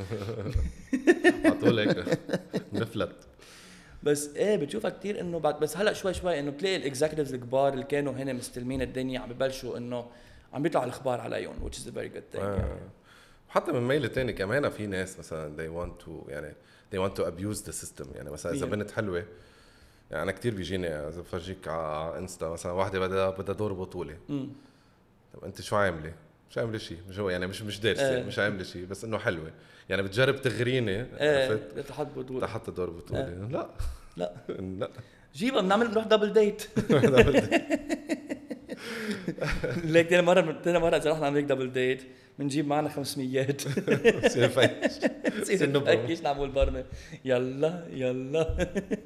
[SPEAKER 2] عطولك نفلت
[SPEAKER 1] بس ايه بتشوفها كتير انه بعد بس هلا شوي شوي انه بتلاقي الاكزيكتيفز الكبار اللي كانوا هنا مستلمين الدنيا عم ببلشوا انه عم بيطلع الاخبار عليهم which is a very good thing آه. يعني.
[SPEAKER 2] حتى من ميل تاني كمان في ناس مثلا they want to يعني they want to abuse the system يعني مثلا اذا بنت حلوه يعني انا كتير بيجيني اذا بفرجيك على انستا مثلا واحده بدها بدها دور بطوله طب انت شو عامله مش عامله شيء مش هو يعني مش مش دارسه آه. مش عامله شيء بس انه حلوه يعني بتجرب تغريني
[SPEAKER 1] آه. تحط بطوله
[SPEAKER 2] تحط دور بطوله آه. لا
[SPEAKER 1] لا
[SPEAKER 2] لا
[SPEAKER 1] جيبها بنعمل نروح دبل ديت ليك تاني مرة تاني مرة إذا رحنا نعمل دبل ديت بنجيب معنا خمسميات
[SPEAKER 2] سير فايش
[SPEAKER 1] سير نفكش نعمل برمة يلا يلا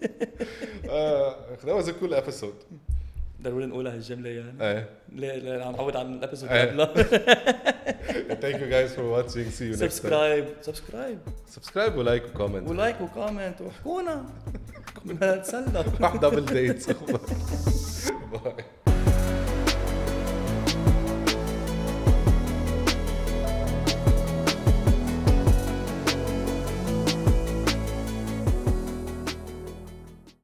[SPEAKER 2] آه that was a cool episode
[SPEAKER 1] ضروري نقولها هالجملة يعني
[SPEAKER 2] ايه
[SPEAKER 1] لا لا عم نعود عن الابيسود قبلها
[SPEAKER 2] thank you guys for watching see you next time
[SPEAKER 1] subscribe subscribe
[SPEAKER 2] subscribe ولايك وكومنت
[SPEAKER 1] ولايك وكومنت وحكونا بدنا نتسلى
[SPEAKER 2] راح دبل ديت باي